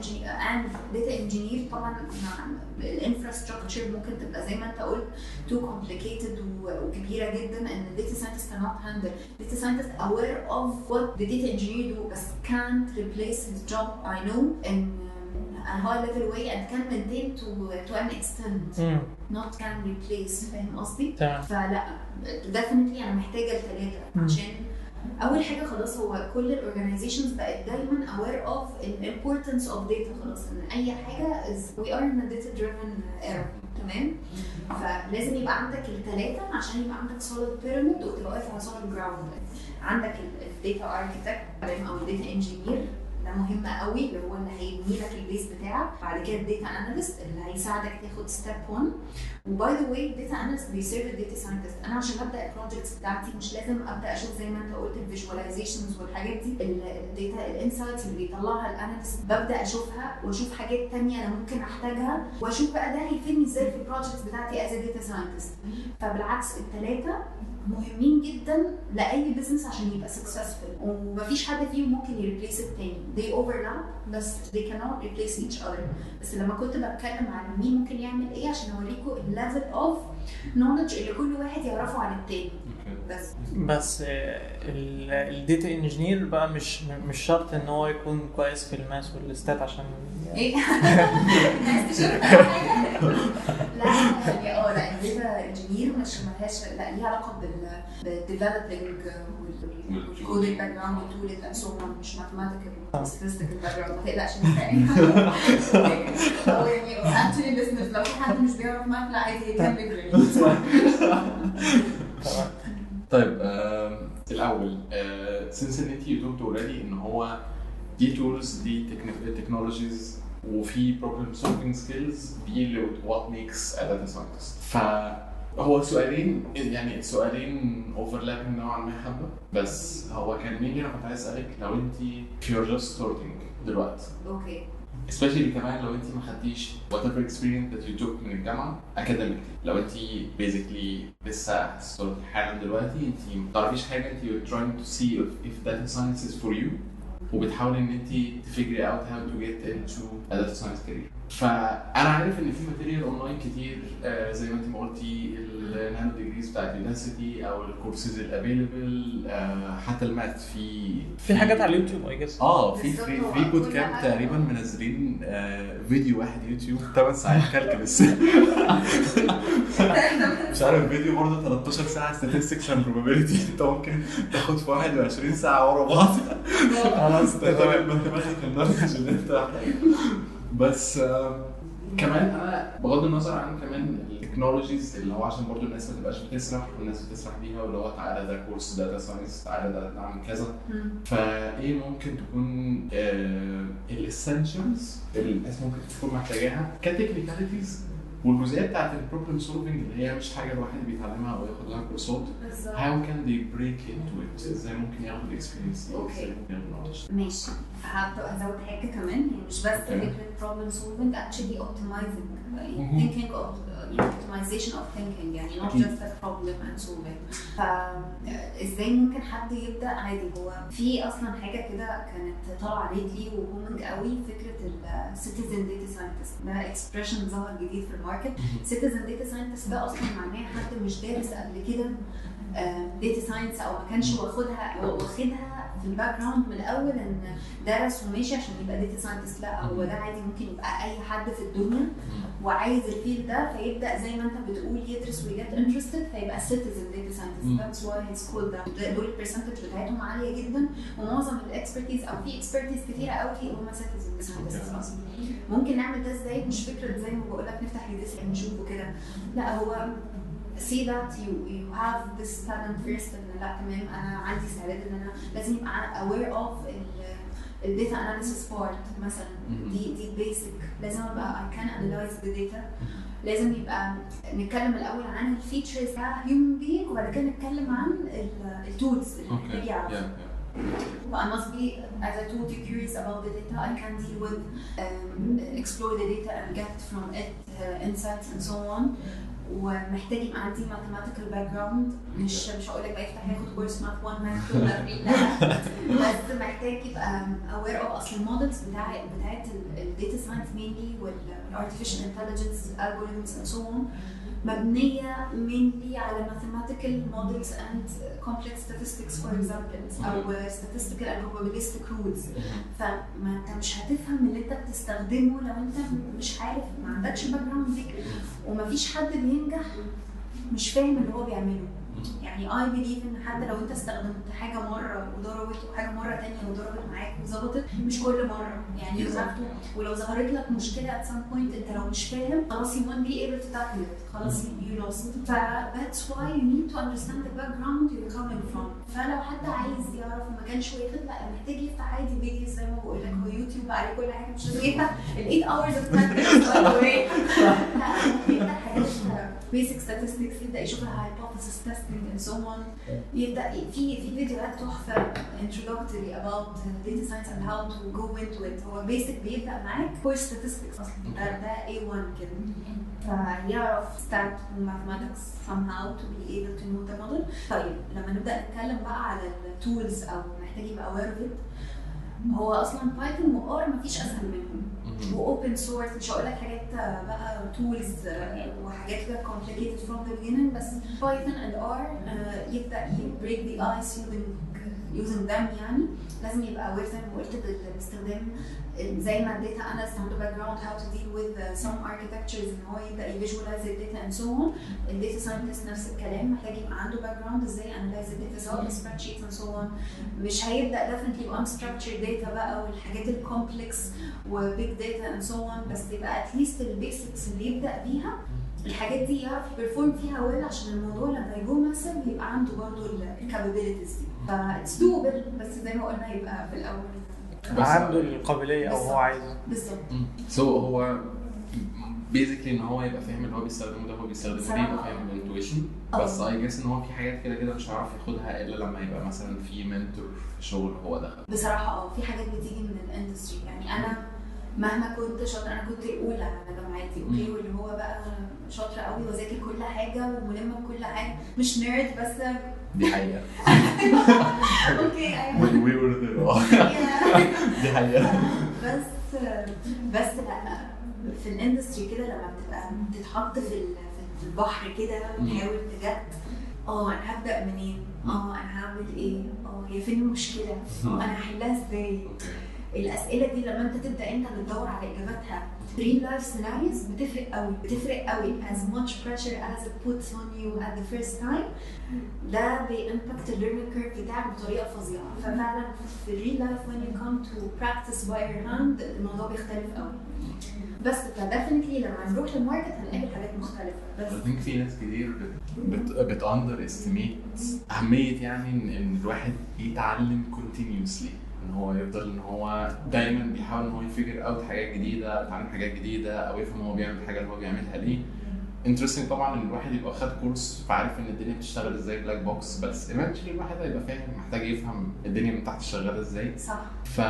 [SPEAKER 3] and data engineer طبعا الانفراستراكشر ممكن تبقى زي ما انت قلت too complicated وكبيره جدا ان data scientist cannot handle. data scientist aware of what the data engineer do بس can't replace his job I know in a high level way and can maintain to an extent not can replace. فاهم قصدي؟ فلا definitely انا محتاجه الثلاثه عشان اول حاجه خلاص هو كل الاورجانيزيشنز بقت دايما aware of the importance of data. خلاص ان اي حاجه we are in a data driven era. تمام. فلازم يبقى عندك الثلاثه عشان يبقى عندك solid pyramid وتبقى واقف على solid ground. عندك الداتا اركيتكت او الداتا انجينير ده مهم قوي اللي هو اللي هيبني لك البيس بتاعك. بعد كده الداتا اناليست اللي هيساعدك تاخد ستيب 1. وباي ذا واي الداتا اناليست بيسيرف الداتا ساينتست. انا عشان ابدا البروجكتس بتاعتي مش لازم ابدا اشوف زي ما انت قلت الفيجواليزيشنز والحاجات دي الداتا الانسايتس اللي بيطلعها الاناليست ببدا اشوفها واشوف حاجات ثانيه انا ممكن احتاجها واشوف بقى ده هيفيدني ازاي في البروجكتس بتاعتي از داتا ساينتست. فبالعكس الثلاثه مهمين جدا لاي بزنس عشان يبقى سكسسفل ومفيش حد فيهم ممكن يريبليس التاني. they overlap بس they cannot replace each other. بس لما كنت بتكلم عن مين ممكن يعمل ايه عشان اوريكم الليفل اوف نوليدج اللي كل واحد يعرفه عن التاني.
[SPEAKER 1] بس الداتا انجينير بقى مش شرط ان هو يكون كويس في الماس والستات عشان
[SPEAKER 3] ايه الناس تشوف حاجه. لا الداتا انجينير مش مالهاش لا ليها علاقه بالديفلوبينج والكودينج باك جراوند والتولز اند سو اون مش ماثيماتيكال ستاتستيكال باك جراوند. ما تقلقش او يعني اكشلي بزنس لو في حد مش بيعرف ماث لا عادي يكمل.
[SPEAKER 2] طيب الاول since ان انت قلت اوريدي ان هو دي تولز دي تكنولوجيز وفي بروبلم سولفينج سكيلز دي what makes a data scientist. فهو سؤالين يعني السؤالين اوفرلابنج نوعا ما حبه بس هو كان مين انا كنت عايز اسالك لو انت you're just starting دلوقتي
[SPEAKER 3] اوكي
[SPEAKER 2] especially كمان لو انت ما خدتيش whatever experience that you took من الجامعه academically. لو انت basically لسه هتستارت حالا دلوقتي انت ما تعرفيش حاجه انت you're trying to see if data science is for you وبتحاولي ان انت تفيجري اوت how to get into a data science career. فانا عارف ان في ماتيريال اونلاين كتير زي ما انت ما قلتي النانو ديجريز بتاعت يوداسيتي او الكورسز الافيلبل حتى الماث في
[SPEAKER 1] حاجات على اليوتيوب اي جس
[SPEAKER 2] في بوت كامب تقريبا منزلين فيديو واحد يوتيوب 8 ساعات كالكولس مش عارف فيديو برضه 13 ساعه statistics and probability انت ممكن تاخد في 21 ساعه ورا بعض خلاص تمام ماثيماتيكال نوليدج اللي انت بس كمان انا بغض النظر عن كمان التكنولوجيز اللي هو عشان برضو الناس ما تبقاش بتسرح والناس بتسرح بيها واللي هو تعالى ده كورس داتا ساينس تعالى ده نعمل كذا. فايه ممكن تكون الاسنشالز اللي الناس ممكن تكون محتاجاها كتكنيكاليتيز والجزئيه بتاعت البروبلم سولفنج اللي هي مش حاجه الواحد بيتعلمها او ياخد لها كورسات. how can they break into it ازاي ممكن ياخد الاكسبيرينس دي ازاي ممكن ياخد knowledge.
[SPEAKER 3] ماشي هزود حاجه كمان يعني مش بس فكره problem solving actually optimizing thinking of optimization of thinking يعني not just a problem and solving. فازاي ممكن حد يبدا عادي هو في اصلا حاجه كده كانت طالعه ليتلي وبومنج قوي فكره السيتيزن داتا ساينتست ده اكسبريشن ظهر جديد في الماركت. سيتيزن داتا ساينتست ده اصلا معناه حد مش دارس قبل كده داتا ساينس او ما كانش واخدها في الباك جراوند من الاول ان درس وماشي عشان يبقى داتا ساينتست. لا هو ده عادي ممكن يبقى اي حد في الدنيا وعايز الفيلد ده فيبدا زي ما انت بتقول يدرس ويجت انترستد فيبقى سيتيزن داتا ساينتست. ذاتس واي اتس كولد ده. دول البرسنتج بتاعتهم عاليه جدا ومعظم الاكسبرتيز او في اكسبرتيز كتيره قوي هم سيتيزن ساينتست اصلا. ممكن نعمل ده ازاي؟ مش فكره زي ما بقول لك نفتح ريدس نشوفه كده. لا هو see that you have this talent first ان لا تمام انا عندي استعداد ان انا لازم يبقى aware of الداتا analysis part مثلا. دي basic لازم ابقى I can analyze the data. لازم يبقى نتكلم الاول عن الفيتشرز بتاع human being وبعد كده نتكلم عن التولز اللي محتاج يعرفها. I must be, as I told you, curious about the data. I can deal with, explore the data and get from it insights and so on. ومحتاج يبقى عندي mathematical background. مش هقول لك بقى يفتح ياخد كورس ماث 1 ماث 2 لا بس محتاج يبقى aware of اصل المودلز بتاعت الداتا ساينس mainly والارتفيشال انتليجنس algorithms and so on مبنية mainly على mathematical models and complex statistics for example أو statistical and probabilistic rules. فما انت مش هتفهم اللي انت بتستخدمه لو انت مش عارف، ما عندكش باك جراوند دي. ومفيش حد بينجح مش فاهم اللي هو بيعمله. يعني I believe ان حتى لو انت استخدمت حاجه مره وضربت وحاجه مره تانية وضربت معاك وظبطت، مش كل مره يعني ولو ظهرت لك مشكله at some point انت لو مش فاهم خلاص you won't be able to tackle it، خلاص you lost. that's why you need to understand the background you're coming from. فلو حد عايز يعرف وما كانش واخد لا محتاج يفتح عادي فيديو زي ما بقول لك، هو يوتيوب عليه كل حاجه، مش لازم يفتح ال 8 hours of practice ولا ايه. لا يفتح حاجات basic statistics، يبدا يشوف hypothesis testing and so on. يبدا في فيديوهات تحفه introductory about data science and how to go into it. هو basic بيبدا معاك core statistics اصلا، ده A1 كده، فيعرف stat mathematics somehow to be able to know the model. طيب لما نبدا نتكلم بقى على التولز او محتاج يبقى aware of it، هو اصلا بايثون وار مفيش اسهل منهم، واوبن سورس. مش هقول لك حاجات بقى تولز وحاجات كده complicated from the beginning، بس بايثون and R يبدا break the ice using them. يعني لازم يبقى aware زي ما قلت بالاستخدام، زي ما الداتا اناليست عنده باك جراوند how to deal with some architectures ان هو يبدا يفيجواليز الداتا and so on. الداتا ساينتست نفس الكلام، محتاج يبقى عنده باك جراوند ازاي انالايز الداتا سواء سبريد شيت and so on. مش هيبدا definitely unstructured data بقى والحاجات الكومبلكس وبيج داتا and so on، بس يبقى at least البيسكس اللي يبدا بيها الحاجات دي يعرف يبرفورم فيها ويل، عشان الموضوع لما يجو ماسف يبقى عنده برضه الكابابيلتيز دي. فاتس دوبل، بس زي ما قلنا يبقى في الاول
[SPEAKER 1] عنده القابليه او هو عايزه
[SPEAKER 3] بالظبط.
[SPEAKER 2] سو هو بيزيكلي ان هو يبقى فاهم اللي هو بيستخدمه ده، هو بيستخدمه ليه، يبقى فاهم الانتويشن. بس اي جس ان هو في حاجات كده كده مش هيعرف ياخدها الا لما يبقى مثلا في منتور في شغل هو دخل.
[SPEAKER 3] بصراحه في حاجات بتيجي من الاندستري. يعني انا مهما كنت شاطره، انا كنت الاولى على جامعتي اوكي، واللي هو بقى شاطره قوي وذاكر كل حاجه وملمه بكل حاجه، مش نيرد بس
[SPEAKER 2] دي حقيقه.
[SPEAKER 3] اوكي
[SPEAKER 2] when we were there دي حقيقه.
[SPEAKER 3] بس لا في الاندستري كده لما بتبقى تتحط في البحر كده وتحاول تجد انا هبدا منين، انا هعمل ايه، هي فين المشكله، انا هحلها ازاي. الاسئله دي لما انت تبدا انت بتدور على اجاباتها real life scenarios بتفرق قوي as much pressure as it puts on you at the first time. ده بيمباكت الليرنينج كيرف بتاعك بطريقه فظيعه. ففعلا في real life when you come to practice by your hand الموضوع بيختلف قوي. بس فديفنتلي لما نروح للماركت هنقابل حاجات مختلفه. بس
[SPEAKER 2] I think في ناس كتير بت underestimate اهميه يعني ان الواحد يتعلم continuously، ان هو يفضل ان هو دايما بيحاول ان هو يفكر اوت حاجات جديده، يتعلم حاجات جديده، او يفهم هو بيعمل الحاجه اللي هو بيعملها ليه. انترستنج طبعا ان الواحد يبقى خد كورس فعارف ان الدنيا بتشتغل ازاي بلاك بوكس، بس ايفنتشلي الواحد هيبقى فاهم محتاج يفهم الدنيا من تحت شغاله ازاي.
[SPEAKER 3] صح.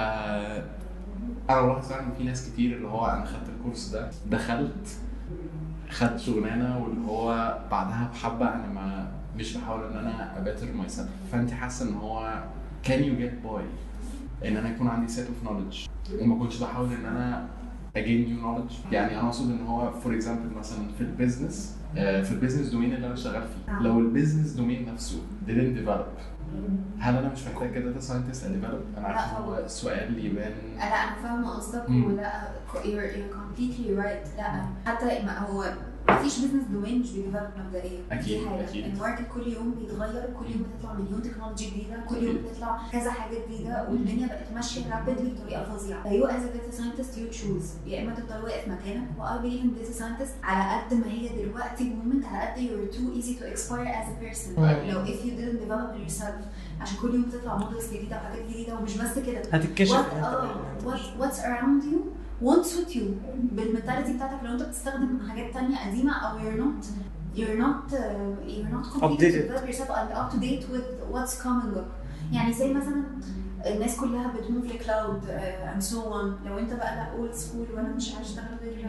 [SPEAKER 2] انا بلاحظ ان في ناس كتير اللي هو انا خدت الكورس ده، دخلت خدت شغلانه، واللي هو بعدها بحبه انا مش بحاول ان انا اباتر ماي سيلف. فانت حاسه ان هو كان يو جيت باي ان انا يكون عندي سيت اوف نوليدج وما كنتش بحاول ان انا اجين نيو نوليدج. يعني انا اقصد ان هو فور اكزامبل مثلا في البيزنس دومين اللي انا شغال فيه، لو البيزنس دومين نفسه didn't develop، هل انا مش محتاج كداتا ساينتست اديفلوب؟ انا عارف ان هو السؤال يبان.
[SPEAKER 3] لا انا فاهمه قصدك، ولا you're completely right. لا حتى ما هو مفيش بزنس دومين مش بيديفلوب مبدئيا.
[SPEAKER 2] اكيد.
[SPEAKER 3] الماركت كل يوم بيتغير، كل يوم بتطلع مليون تكنولوجي جديده، كل يوم بتطلع كذا حاجه جديده، والدنيا بقت ماشيه رابيدلي بطريقه فظيعه. فيو از داتا ساينتست يو تشوز، يا اما تفضل واقف مكانك واي بليف ان داتا ساينتست على قد ما هي دلوقتي مومنت، على قد you're too easy to expire as a person. لو if you didn't develop yourself، عشان كل يوم بتطلع مودلز جديده وحاجات جديده، ومش بس كده
[SPEAKER 1] هتتكشف
[SPEAKER 3] what's around you won't suit you بالمنتاليتي بتاعتك. لو انت بتستخدم حاجات تانية قديمه او you're not completely develop yourself and up to date with what's coming up. يعني زي مثلا الناس كلها بتموف لكلاود and so on. لو انت بقى لا اولد سكول وانا مش عايز اشتغل غير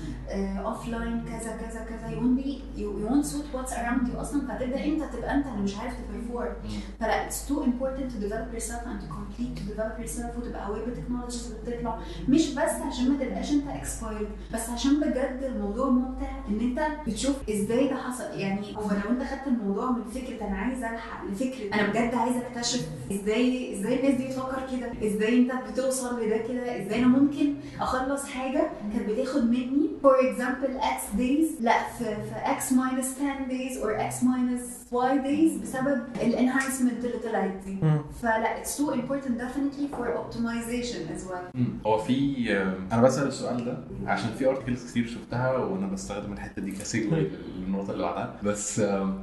[SPEAKER 3] اوف لاين كذا كذا كذا you won't suit what's around you اصلا، فتبدا انت تبقى انت اللي مش عارف تبرفورم. فلا it's too important to develop yourself and to complete to develop yourself وتبقى aware بالتكنولوجيز اللي بتطلع، مش بس عشان ما تبقاش انت expired، بس عشان بجد الموضوع ممتع ان انت بتشوف ازاي ده حصل. يعني هو لو انت خدت الموضوع من فكره انا عايز الحق لفكره انا بجد عايز اكتشف ازاي الناس دي بتفكر كده، ازاي انت بتوصل لده كده، ازاي انا ممكن اخلص حاجه كانت بتاخد مني for example x days لا في x minus 10 days or x minus y days بسبب الانهانسمنت اللي طلعت دي. فلا it's too important definitely for optimization as well.
[SPEAKER 2] هو في انا بسأل السؤال ده عشان في ارتكلز كتير شفتها وانا بستخدم الحته دي كسيجوي للنقطه اللي بعدها. بس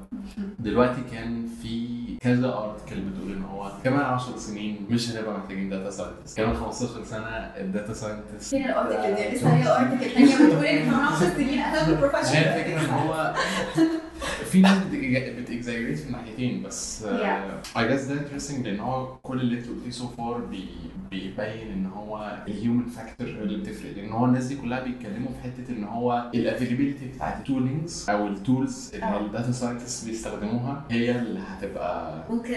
[SPEAKER 2] دلوقتي كان في كذا ارتكل بتقول ان هو كمان 10 سنين مش هنبقى محتاجين داتا ساينتست، كمان 15 سنه الداتا ساينتست.
[SPEAKER 3] فين الارتكل دي؟ لسه هي ارتكل ثانيه بتقول ان كمان 10 سنين اهم بروفيشنال.
[SPEAKER 2] هي الفكره ان هو في ناس بتexaggerate في الناحيتين، بس I guess ده interesting لان هو كل اللي انت قلتيه so far بيبين ان هو الهيومن فاكتور اللي بتفرق. لان هو الناس دي كلها بيتكلموا في حته ان هو الافيلابيلتي بتاعت التولينجز او التولز اللي الداتا ساينتست بيستخدموها هي اللي هتبقى
[SPEAKER 3] ممكن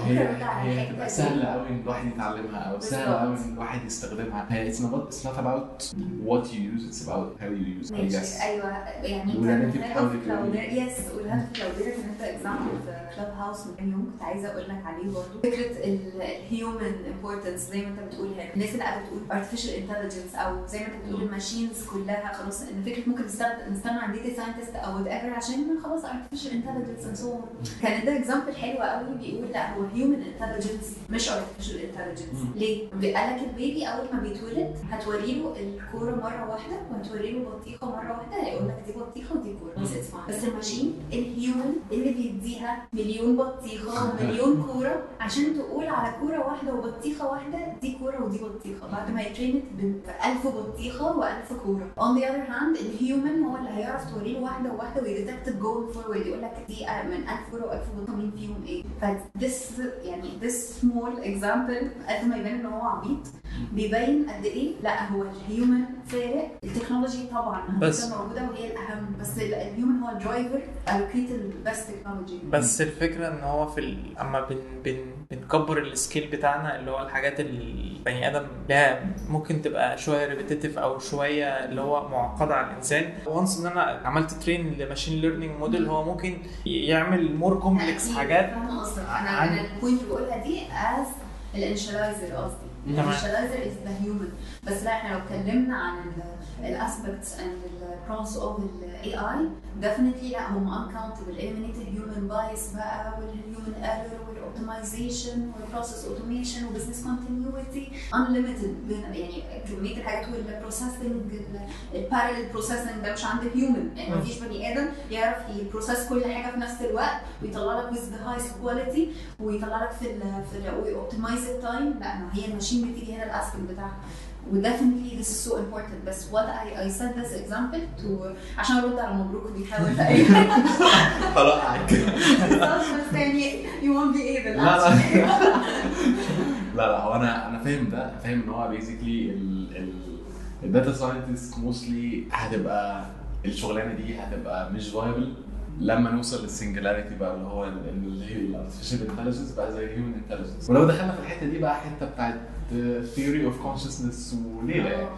[SPEAKER 2] هي هتبقى سهله قوي ان الواحد يتعلمها او سهله قوي ان الواحد يستخدمها. هي it's not about what you use, it's about how you use it. I guess
[SPEAKER 3] ايوه يعني
[SPEAKER 2] انت بتحاول
[SPEAKER 3] يس والهدف كلاوديرا كان انت اكزامبل في كلاب هاوس من كام يوم كنت عايزه اقول لك عليه برضه. فكره الهيومن امبورتنس زي ما انت بتقول هنا، الناس اللي قاعده بتقول artificial intelligence او زي ما انت بتقول الماشينز كلها خلاص ان فكره ممكن نستغنى عن داتا ساينتست او وات ايفر عشان خلاص artificial intelligence and so on. كان ده اكزامبل حلو قوي بيقول لا هو human intelligence مش artificial intelligence. ليه؟ قال لك البيبي اول ما بيتولد هتوري له الكوره مره واحده وهتوري له بطيخه مره واحده هيقول لك دي بطيخه ودي كوره بس الماشين الهيومن اللي بيديها مليون بطيخه ومليون كوره عشان تقول على كوره واحده وبطيخه واحده دي كوره ودي بطيخه بعد ما يترينت ب1000 بطيخه و1000 كوره. on the other hand الهيومن هو اللي هيعرف توري له واحده واحده ويديتكت جوينج فورورد يقول لك دي من 1000 كوره و1000 بطيخه مين فيهم ايه. فدس يعني this small example قد ما يبان ان هو عبيط بيبين قد ايه لا هو الهيومن فارق. التكنولوجي طبعا هتبقى موجوده وهي الاهم بس الهيومن هو الدرايفر allocate البست تكنولوجي.
[SPEAKER 1] بس الفكره ان هو في اما بنكبر السكيل بتاعنا اللي هو الحاجات اللي البني ادم لها ممكن تبقى شويه ريبيتيتيف او شويه اللي هو معقده على الانسان. وانس ان انا عملت ترين لماشين ليرنينج موديل هو ممكن يعمل مور كومبلكس حاجات.
[SPEAKER 3] انا البوينت اللي بقولها دي از الانشلايزر قصدي الانشلايزر از ذا هيومن. بس لا احنا لو اتكلمنا عن الاسبكتس اند البروس اوف الاي اي definitely لا هم uncountable. eliminate الهيومن بايس بقى والهيومن ايرور والاوبتمايزيشن والبروسيس اوتوميشن وبزنس كونتينيوتي unlimited. يعني كميه الحاجات والبروسيسنج البارallel بروسيسنج ده مش عند الهيومن. يعني مفيش بني ادم يعرف يبروسيس كل حاجه في نفس الوقت ويطلع لك with the highest quality ويطلع لك في ويوبتمايز التايم. لا هي الماشين بتيجي هنا الاسبكت بتاعها. definitely this is so important. بس what I said this example to عشان ارد على مبروك بيحاول
[SPEAKER 2] طلعك
[SPEAKER 3] بس يعني you won't be able.
[SPEAKER 2] لا هو انا فاهم ده، فاهم ان هو basically الداتا ساينتست موستلي هتبقى الشغلانه دي هتبقى مش فايبل لما نوصل للسنجلاريتي بقى اللي هو الارتفيشال انتليجنس بقى زي الهيومن انتليجنس. ولو دخلنا في الحته دي بقى حته بتاعت theory of consciousness وليله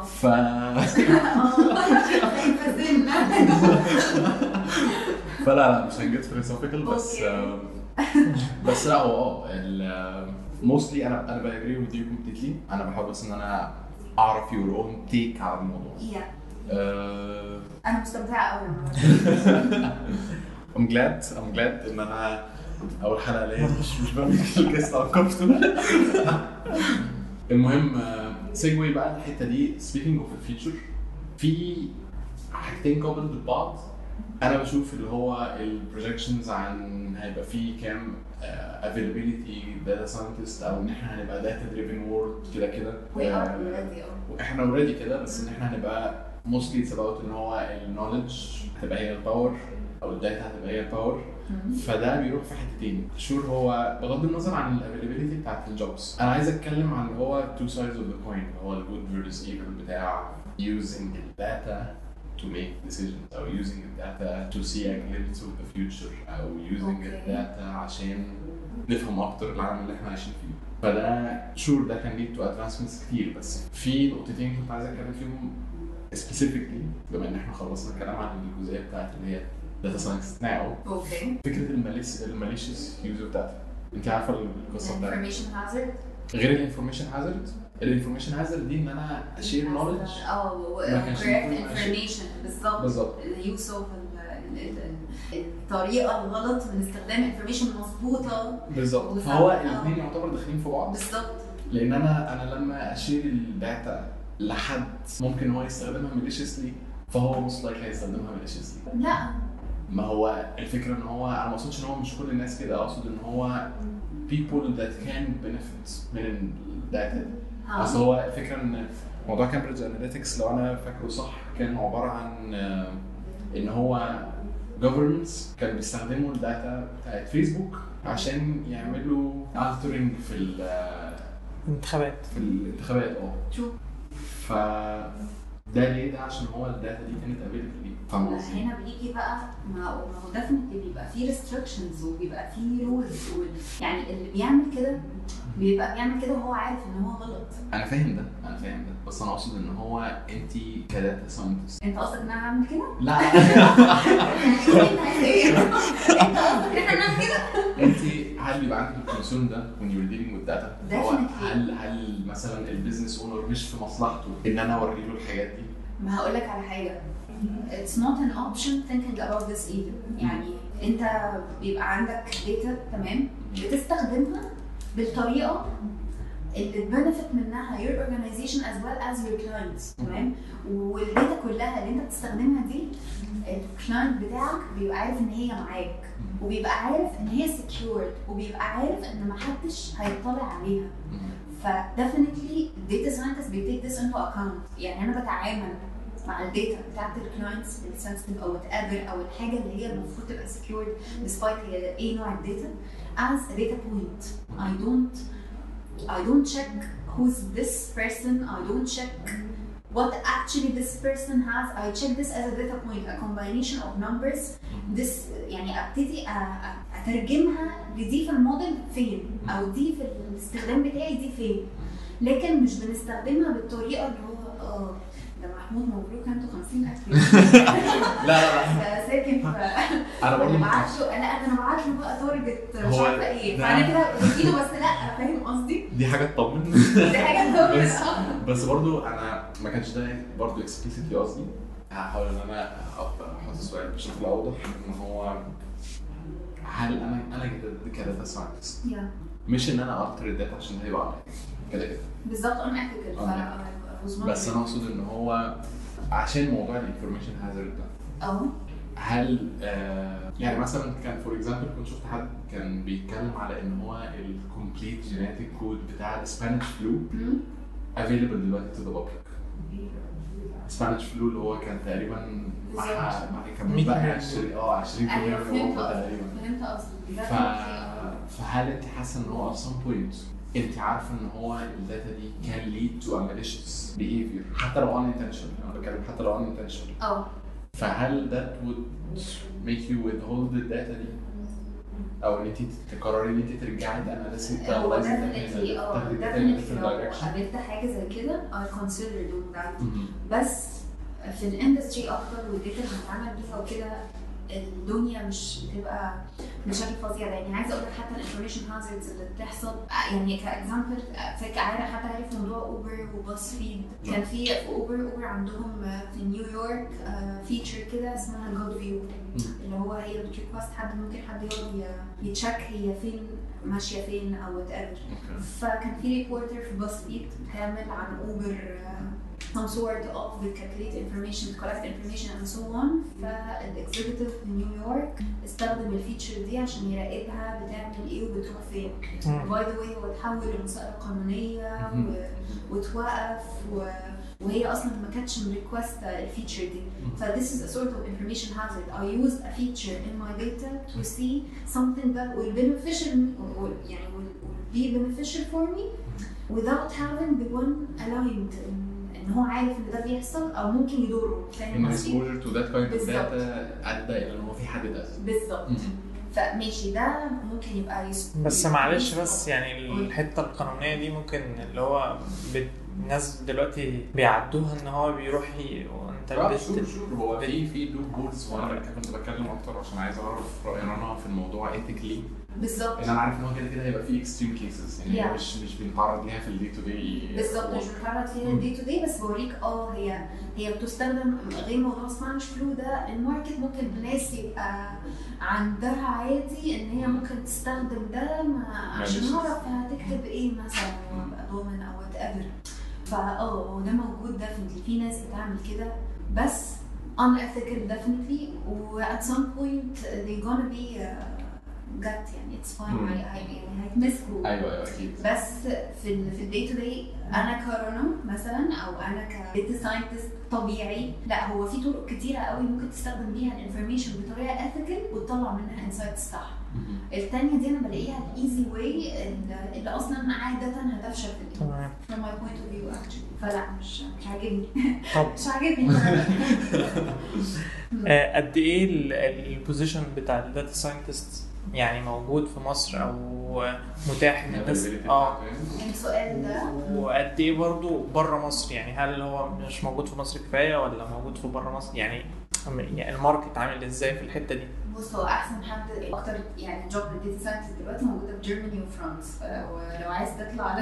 [SPEAKER 2] فلا مش هنجد philosophical بس لا هو mostly انا باجري with you completely. انا بحاول بس ان انا اعرف your own take على الموضوع.
[SPEAKER 3] انا مستمتعه قوي.
[SPEAKER 2] I'm glad ان انا اول حلقه ليا مش بعمل الجست على الكمبيوتر. المهم سيجوي بقى الحته دي. speaking of the future في حاجتين قابل لبعض. انا بشوف اللي هو البروجكشنز عن هيبقى فيه كام availability data scientist او ان احنا هنبقى data driven world كده واحنا اوريدي كده. بس ان احنا هنبقى mostly it's about ان هو النوليدج هتبقى هي الباور او الداتا هتبقى هي الباور. فده بيروح في حتتين. شور هو بغض النظر عن الافيلابيلتي بتاعت الجوبز، انا عايز اتكلم عن هو two sides of the coin، هو الجود versus evil بتاع using the data to make decisions او using the data to see a glimpse of the future او using the data عشان نفهم اكتر العالم اللي احنا عايشين فيه. فده شور ده كان lead to advancements كتير، بس في نقطتين كنت عايز اتكلم فيهم specifically بما ان احنا خلصنا الكلام عن الجزئيه بتاعت اللي هي data science now. فكره الماليشيس يوز اوف داتا، انت عارفه القصه بتاعتها؟
[SPEAKER 3] information hazard
[SPEAKER 2] غير الانفورميشن هازارد. الانفورميشن هازارد دي ان انا اشير نولج
[SPEAKER 3] correct information بالظبط اليوز اوف الطريقه الغلط من استخدام انفورميشن مظبوطه
[SPEAKER 2] بالظبط. فهو الاثنين يعتبر داخلين في بعض
[SPEAKER 3] بالظبط،
[SPEAKER 2] لان انا لما اشير الداتا لحد ممكن هو يستخدمها ماليشيسلي، فهو موست لايك هيستخدمها ماليشيسلي.
[SPEAKER 3] لا
[SPEAKER 2] ما هو الفكره ان هو انا ما اقصدش ان هو مش كل الناس كده، اقصد ان هو people that can benefit من الداتا دي. اصل هو الفكره ان موضوع كامبريدج اناليتكس لو انا فاكره صح كان عباره عن ان هو governments كانوا بيستخدموا الداتا بتاعت فيسبوك عشان يعملوا altering في
[SPEAKER 1] الانتخابات
[SPEAKER 3] شو
[SPEAKER 2] ف ده ليه؟ ده عشان هو الداتا دي كانت available ليه.
[SPEAKER 3] هنا بيجي بقى ما هو definitely بيبقى فيه restrictions وبيبقى فيه rules يعني اللي بيعمل كده بيبقى بيعمل كده وهو عارف ان هو غلط.
[SPEAKER 2] انا فاهم ده بس انا اقصد ان هو انت كداتا ساينتست
[SPEAKER 3] انت قصدك ان انا هعمل كده؟
[SPEAKER 2] لا
[SPEAKER 3] انت قصدك ان احنا نعمل كده؟
[SPEAKER 2] انت هل بيبقى عندك الكونسيرن ده when you're dealing with data؟ هل مثلا البيزنس اونر مش في مصلحته ان انا اوري له الحاجات دي؟
[SPEAKER 3] ما هقول لك على حاجه، it's not an option thinking about this either. يعني انت بيبقى عندك data تمام بتستخدمها بالطريقه اللي benefit منها your organization as well as your clients تمام، والداتا كلها اللي انت بتستخدمها دي الكلاينت بتاعك بيبقى عارف ان هي معاك وبيبقى عارف ان هي secured وبيبقى عارف ان محدش هيطلع عليها. ف definitely data scientists بيتيك this into account. يعني انا بتعامل مع الداتا بتاعت الكلاينتس السنسيتيف او whatever او الحاجه اللي هي المفروض تبقى secured despite هي ايه نوع الداتا as a data point. I don't check who's this person. I don't check what actually this person has. I check this as a data point, a combination of numbers. This يعني ابتدي اترجمها لدي في الموديل فين او دي في الاستخدام بتاعي دي فين، لكن مش بنستخدمها بالطريقه اللي هو ده محمود مبروك انتوا 50,000
[SPEAKER 2] لا
[SPEAKER 3] ساكن
[SPEAKER 2] انا برضه
[SPEAKER 3] انا بعت له بقى تارجت مش عارفه ايه، فانا كده بديله بس لا فاهم قصدي؟
[SPEAKER 2] دي حاجه تطمن
[SPEAKER 3] دي حاجه تطمن
[SPEAKER 2] بس برضه انا ما كانش ده برضه اكسبليسيتلي قصدي. هحاول ان انا احط السؤال بشكل اوضح ان هو هل انا كداتا ساينتست مش ان انا التر الداتا عشان هيبقى عليا كده
[SPEAKER 3] بالظبط انا اعتقد
[SPEAKER 2] بس انا اقصد ان هو عشان موضوع الانفورميشن هازارد ده هل يعني مثلا كان فور اكزامبل كنت شفت حد كان بيتكلم على ان هو الكومبليت جينيتيك كود بتاع السبانيش فلو افيلبل دلوقتي تو ذا بابليك. السبانيش فلو اللي هو كان تقريبا كان بقى 20% من اوروبا تقريبا.
[SPEAKER 3] فهمت قصدي.
[SPEAKER 2] فهل انت حاسه ان هو at some point انت عارفه ان هو الداتا دي كان lead to a malicious behavior حتى لو unintentional؟ انا بتكلم حتى لو unintentional. فهل that would make you withhold the data دي او ان انت تقرري ان انت ترجعي تاناليسيس
[SPEAKER 3] هو definitely لو قابلت حاجه زي كده I consider doing that. بس في الاندستري اكتر والداتا اللي بنتعامل بيها وكده الدنيا مش بتبقى مشاكل فظيعه. يعني عايزه اقول لك حتى الانفورميشن هازاردز اللي بتحصل يعني كاكزامبل حتى عارف موضوع اوبر وباص فيد. كان في اوبر عندهم في نيويورك فيتشر كده اسمها جود فيو اللي هو هي بتريكوست حد ممكن حد يقعد يتشيك هي فين ماشيه فين او وات ايفر. فكان في ريبورتر في باص فيد بتعمل عن اوبر some sort of the calculate information, collect information and so on. فالexecutive في نيويورك استخدم الفيتشر دي عشان يراقبها بتعمل ايه وبتروح فين. by the way هو اتحول لمسألة قانونية وتوقف وهي اصلا ما كانتش ريكوست الفيتشر دي. ف this is a sort of information hazard. I used a feature in my data to see something that will beneficial يعني will be beneficial for me without having the one aligned ان هو عارف ان ده بيحصل او ممكن يضره.
[SPEAKER 2] فاهم قصدي؟ exposure to that kind of data ادى الى ان هو في حد ده
[SPEAKER 3] بالظبط. فماشي ده ممكن يبقى
[SPEAKER 1] بس معلش بس يعني الحته القانونيه دي ممكن اللي هو الناس دلوقتي بيعدوها ان هو بيروح وانت
[SPEAKER 2] هو في لوب هولز. وانا كنت بتكلم اكتر عشان عايز اعرف راي رنا في الموضوع ايثيكلي
[SPEAKER 3] بالظبط.
[SPEAKER 2] انا عارف ان هو كده هيبقى في اكستريم كيسز يعني مش بنتعرض ليها في الدي تو دي
[SPEAKER 3] بالظبط. مش بنتعرض فيها الدي تو دي بس بوريك هي بتستخدم غير موضوع سبانش فلو ده. الماركت ممكن الناس يبقى عندها عادي ان هي ممكن تستخدم ده عشان نعرف هتكتب ايه مثلا وابقى ضامن او وات ايفر. ده موجود definitely. في ناس بتعمل كده بس unethical definitely و at some point they gonna be gut يعني it's fine. يعني هيتمسكوا.
[SPEAKER 2] ايوه اكيد.
[SPEAKER 3] بس في الدي تو دي انا كرنا مثلا او انا كديتا ساينتست طبيعي لا هو في طرق كتيره قوي ممكن تستخدم بيها الانفورميشن بطريقه ethical وتطلع منها انسايتس صح. الثانيه دي انا بلاقيها الايزي واي اللي اصلا عاده هتفشل في
[SPEAKER 1] تمام
[SPEAKER 3] from my point of view actually. فلا مش عاجبني.
[SPEAKER 1] طب
[SPEAKER 3] مش عاجبني.
[SPEAKER 1] قد ايه البوزيشن بتاع الداتا ساينتست يعني موجود في مصر او متاح ان الناس
[SPEAKER 3] السؤال ده
[SPEAKER 1] وقد ايه برضه بره مصر يعني هل هو مش موجود في مصر كفايه ولا موجود في بره مصر يعني الماركت عامل ازاي في الحته دي؟
[SPEAKER 3] بص هو احسن حد اكتر يعني جوب الداتا ساينتست دلوقتي موجوده في جيرماني وفرنسا ولو عايز تطلع على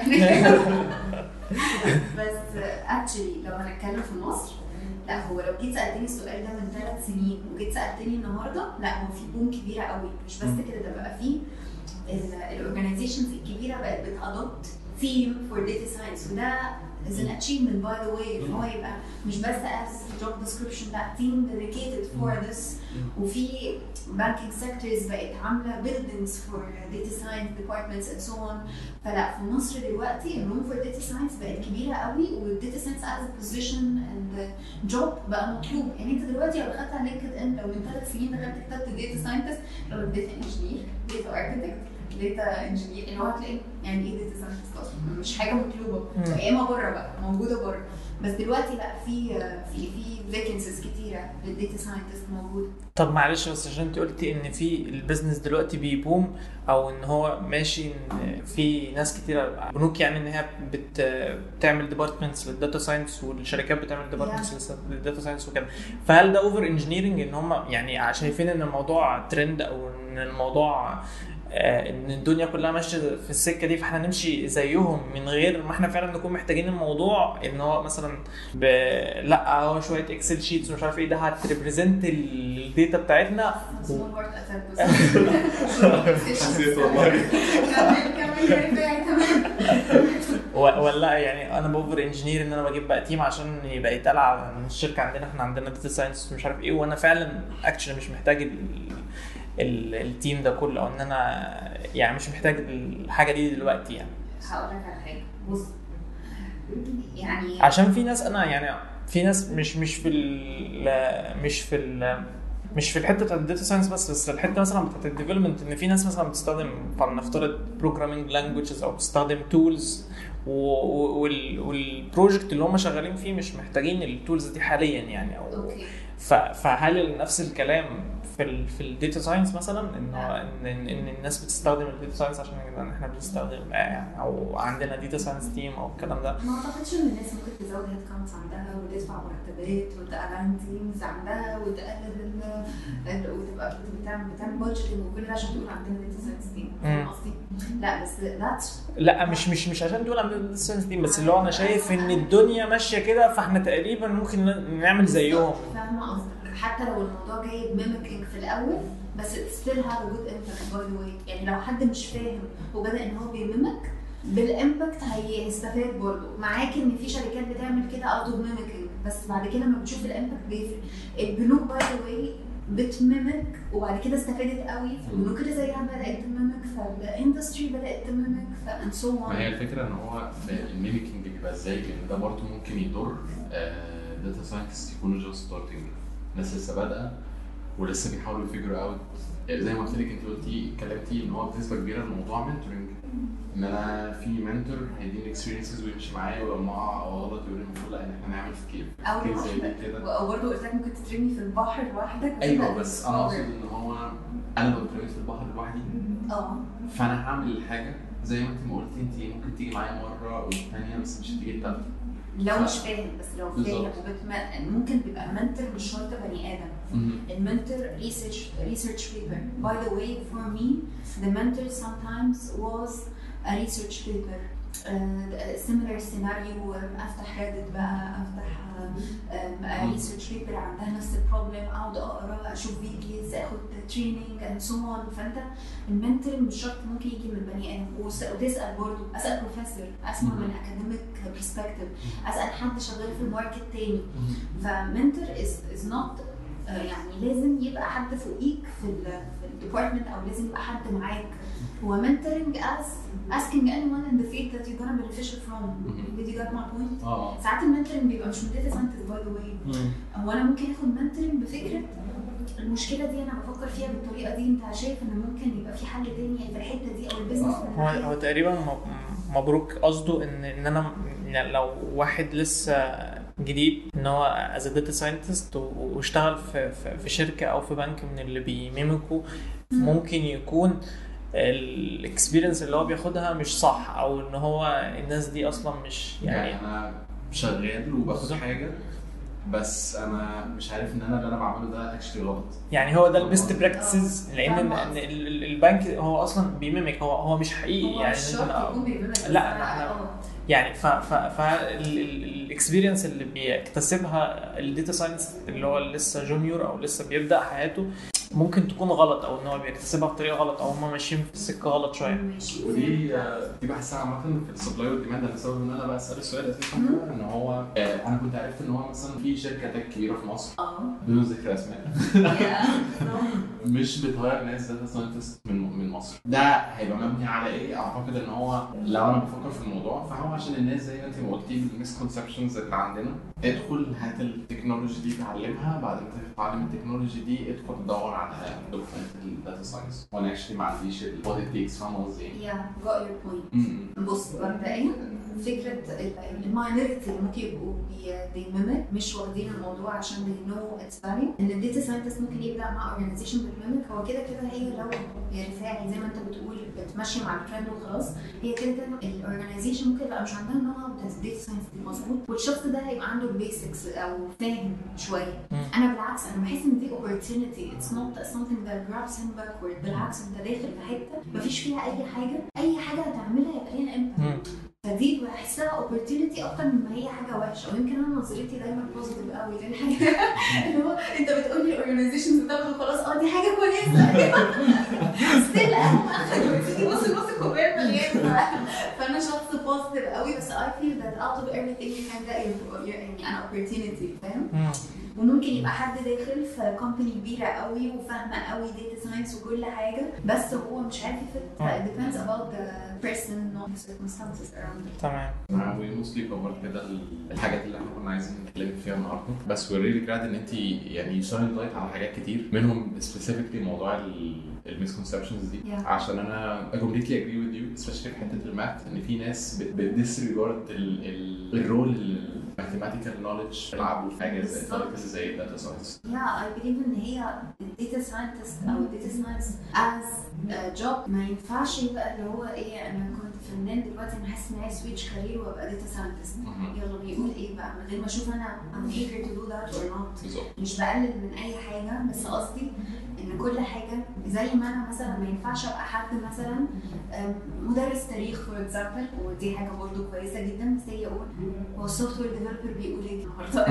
[SPEAKER 3] بس اكشلي لو هنتكلم في مصر لا هو لو جيت سالتني السؤال ده من 3 سنين وجيت سالتني النهارده لا هو في بوم كبيره قوي. مش بس كده ده بقى في الاورجانيزيشنز الكبيره بقت بتادوبت ثيم فور داتا ساينس وده is an achievement by the way ان هو يبقى مش بس as job description لا team dedicated for this. وفي banking sectors بقت عامله buildings for data science departments and so on. فلا في مصر دلوقتي الروم for data science بقت كبيره قوي والداتا science as a position and job بقى مطلوب. يعني انت دلوقتي لو دخلت على لينكد ان لو من 3 سنين دخلت كتبت data scientist لو data engineer data architect داتا انجينير اللي هو هتلاقي يعني ايه داتا ساينتست اصلا مش حاجه مطلوبه. ايامها بره بقى موجوده بره بس دلوقتي لا في فيكنسيز كتيره للداتا ساينتست موجوده.
[SPEAKER 1] طب معلش بس عشان انت قلتي ان في البيزنس دلوقتي بيبوم او ان هو ماشي ان في ناس كتيره بنوك يعني ان هي بتعمل ديبارتمنتس للداتا ساينس والشركات بتعمل ديبارتمنتس للداتا ساينس وكده. فهل ده اوفر انجينيرنج ان هم يعني شايفين ان الموضوع ترند او ان الموضوع ان الدنيا كلها ماشيه في السكه دي فاحنا نمشي زيهم من غير ما احنا فعلا نكون محتاجين الموضوع ان هو مثلا لا هو شويه اكسل شيتس ومش عارف ايه ده هتريبريزنت الداتا بتاعتنا ولا يعني انا باوفر انجينير ان انا بجيب بقى تيم عشان يبقى يتقال على الشركه عندنا احنا عندنا داتا ساينس مش عارف ايه وانا فعلا اكشلي مش محتاج التيم ده كله او ان انا يعني مش محتاج الحاجه دي دلوقتي. يعني
[SPEAKER 3] هقول لك على حاجه بص يعني
[SPEAKER 1] عشان في ناس انا يعني في ناس مش في الحته بتاعت الداتا ساينس بس الحته مثلا بتاعت الديفلوبمنت ان في ناس مثلا بتستخدم فلنفترض بروجرامينج لانجويجز او بتستخدم تولز والبروجكت اللي هم شغالين فيه مش محتاجين التولز دي حاليا يعني او فهل نفس الكلام في الداتا ساينس مثلا ان الناس بتستخدم الداتا ساينس عشان احنا بنستخدم يعني او عندنا داتا ساينس تيم او الكلام ده؟
[SPEAKER 3] ما اعتقدش ان الناس ممكن تزود هيد كاونتس عندها وتدفع مرتبات وتقلل تيمز عندها وتقلل وتبقى بتعمل بادجيتنج وكل ده عشان تقول عندنا داتا ساينس تيم. فاهم قصدي؟ لا بس
[SPEAKER 1] لا مش عشان تقول عندنا داتا ساينس تيم بس اللي هو انا شايف ان الدنيا ماشيه كده فاحنا تقريبا ممكن نعمل زيهم.
[SPEAKER 3] فاهمه قصدك حتى لو الموضوع جاي بميميكينج في الاول بس still have a good impact by the way. يعني لو حد مش فاهم وبدأ ان هو بيميمك بالامباكت هيستفاد برضه معاك. ان في شركات بتعمل كده out of mimicking بس بعد كده لما بتشوف الامباكت بيفرق. البنوك by the way بتممك وبعد كده استفادت قوي، فالبنوك اللي زيها بدات تممك، فالاندستري بدات تممك، فان سو
[SPEAKER 2] ما هي الفكره ان هو الميميكينج بيبقى ازاي، لان ده برضه ممكن يضر داتا ساينتست يكونوا جاست ستارتنج، ناس لسه بادئه ولسه بيحاولوا يفيجروا اوت. زي ما قلت لك انت اتكلمتي ان هو بنسبه كبيره الموضوع منتورنج، ان انا في منتور هيديني اكسبيرينسز ويمشي معايا ولما اقع او غلط يقول لي المفروض لا ان احنا نعمل سكيل
[SPEAKER 3] زي كده، او برضه قلت لك ممكن تترمي في البحر لوحدك.
[SPEAKER 2] ايوه بس انا اقصد ان هو انا لو اترميت في البحر لوحدي فانا هعمل الحاجه زي ما انت ما قلتي، انت ممكن تيجي معايا مره والثانيه بس مش هتيجي الثالثه
[SPEAKER 3] لو مش فاهم. بس لو فاهم ممكن بيبقى المنتور مش شرط بني ادم. المنتور research paper. By the way, for me, the mentor sometimes was a research paper. Similar scenario. افتح ريدت بقى، افتح research paper عندها نفس البروبلم، اقعد اقرا، اشوف فيديوز، اخد تريننج and so on. فانت المنتور مش شرط ممكن يجي من بني ادم، وتسال برضه، اسال بروفيسور، اسمع من اكاديميك برسبكتيف، اسال حد شغال في الماركت تاني. فمنتور is not يعني لازم يبقى حد فوقيك في الديبارتمنت، او لازم يبقى حد معاك. هو mentoring as asking anyone in the field that you're gonna benefit from. Did you get my point? ساعات المنتورنج بيبقى مش من data scientist by the way. هو انا ممكن اخد mentoring بفكره المشكله دي انا بفكر فيها بالطريقه دي، انت شايف ان ممكن يبقى في حل تاني في الحته دي او البيزنس.
[SPEAKER 1] هو تقريبا مبروك قصده ان انا لو واحد لسه جديد ان هو as a data scientist واشتغل في شركه او في بنك من اللي بيميمكوا، ممكن يكون الاكسبيرينس اللي هو بياخدها مش صح، او ان هو الناس دي اصلا مش يعني
[SPEAKER 2] انا شغال وباخد حاجه بس انا مش عارف ان انا اللي انا بعمله ده اكشلي غلط.
[SPEAKER 1] يعني هو ده البيست براكتسز، لان البنك هو اصلا بيميمك، هو مش حقيقي. يعني لا احنا يعني الاكسبيرينس اللي بيكتسبها الداتا ساينس اللي هو لسه جونيور او لسه بيبدا حياته ممكن تكون غلط، او ان هو بيكتسبها بطريقه غلط، او هم ماشيين في السكه غلط شويه.
[SPEAKER 2] ودي بحسها عامه في السبلاي والديماند. انا سبب ان انا بسال السؤال اساسا ان هو انا كنت عرفت ان هو مثلا في شركه تك كبيره في مصر بدون ذكر اسماء مش بتغير ناس داتا ساينتست من مصر. ده هيبقى مبني على ايه؟ اعتقد ان هو لو انا بفكر في الموضوع فهو عشان الناس زي ما انت ما قلتي المسكونسبشنز اللي عندنا، ادخل هات التكنولوجي دي تعلمها، بعد ما تتعلم التكنولوجي دي ادخل تدور على دوكيومنت الداتا ساينس. وانا اكشلي ما عنديش what it takes. فاهم قصدي؟
[SPEAKER 3] got your point. بص مبدئيا فكره الماينورتي اللي ممكن يبقوا بيميمك مش واخدين الموضوع عشان they know its value. ان الداتا ساينتست ممكن يبدا مع اورجانيزيشن بتميمك، هو كده هي لو هي رفاعي زي ما انت بتقول بتمشي مع الترند وخلاص، هي كده الاورجانيزيشن ممكن يبقى مش عندها نوع بتاع الداتا ساينس مظبوط، والشخص ده هيبقى عنده البيسكس او فاهم شويه. انا بالعكس انا بحس ان دي opportunity, it's not something that grabs him backward. بالعكس انت داخل في حته مفيش فيها اي حاجه هتعملها يبقى ليها امباكت، فدي بحسها opportunity اكتر من ما هي حاجه وحشه. ويمكن انا نظرتي دايما بوزيتيف قوي، لان حاجه اللي هو انت بتقول لي اورجانيزيشنز بتاخد خلاص دي حاجه كويسه ستيل اهم اخد بص الكوبايه مليان. فانا شخص بوزيتيف قوي، بس I feel that out of everything you can get يعني انا opportunity. فاهم؟ وممكن يبقى حد داخل في كومباني كبيره قوي وفاهمه قوي داتا ساينس وكل حاجه، بس هو مش عارف يفت. depends about the person not the circumstances around.
[SPEAKER 1] تمام.
[SPEAKER 2] وموستلي كفرت كده الحاجات اللي احنا كنا عايزين نتكلم فيها النهارده، بس we're really glad ان انت يعني شاين لايت على حاجات كتير منهم specifically موضوع المسكونسبشنز دي. عشان انا completely agree with you especially في حته الماث، ان في ناس بتديسريجارد الرول mathematical knowledge تلعبوا في حاجه زي الداتا ساينس.
[SPEAKER 3] I believe ان هي الداتا ساينتست او الداتا ساينس as a job ما ينفعش يبقى اللي هو ايه انا كنت فنان دلوقتي انا حاسس ان عايز سويتش كارير وابقى داتا ساينتست. يلا بيقول ايه بقى من غير ما اشوف انا I'm eager to do that or not. مش بقلل من اي حاجه، بس قصدي ان كل حاجه زي ما انا مثلا ما ينفعش ابقى حد مثلا مدرس تاريخ فور اكزامبل، ودي حاجه برضو كويسه جدا، بس هي هو السوفت وير ديفلوبر بيقول ايه النهارده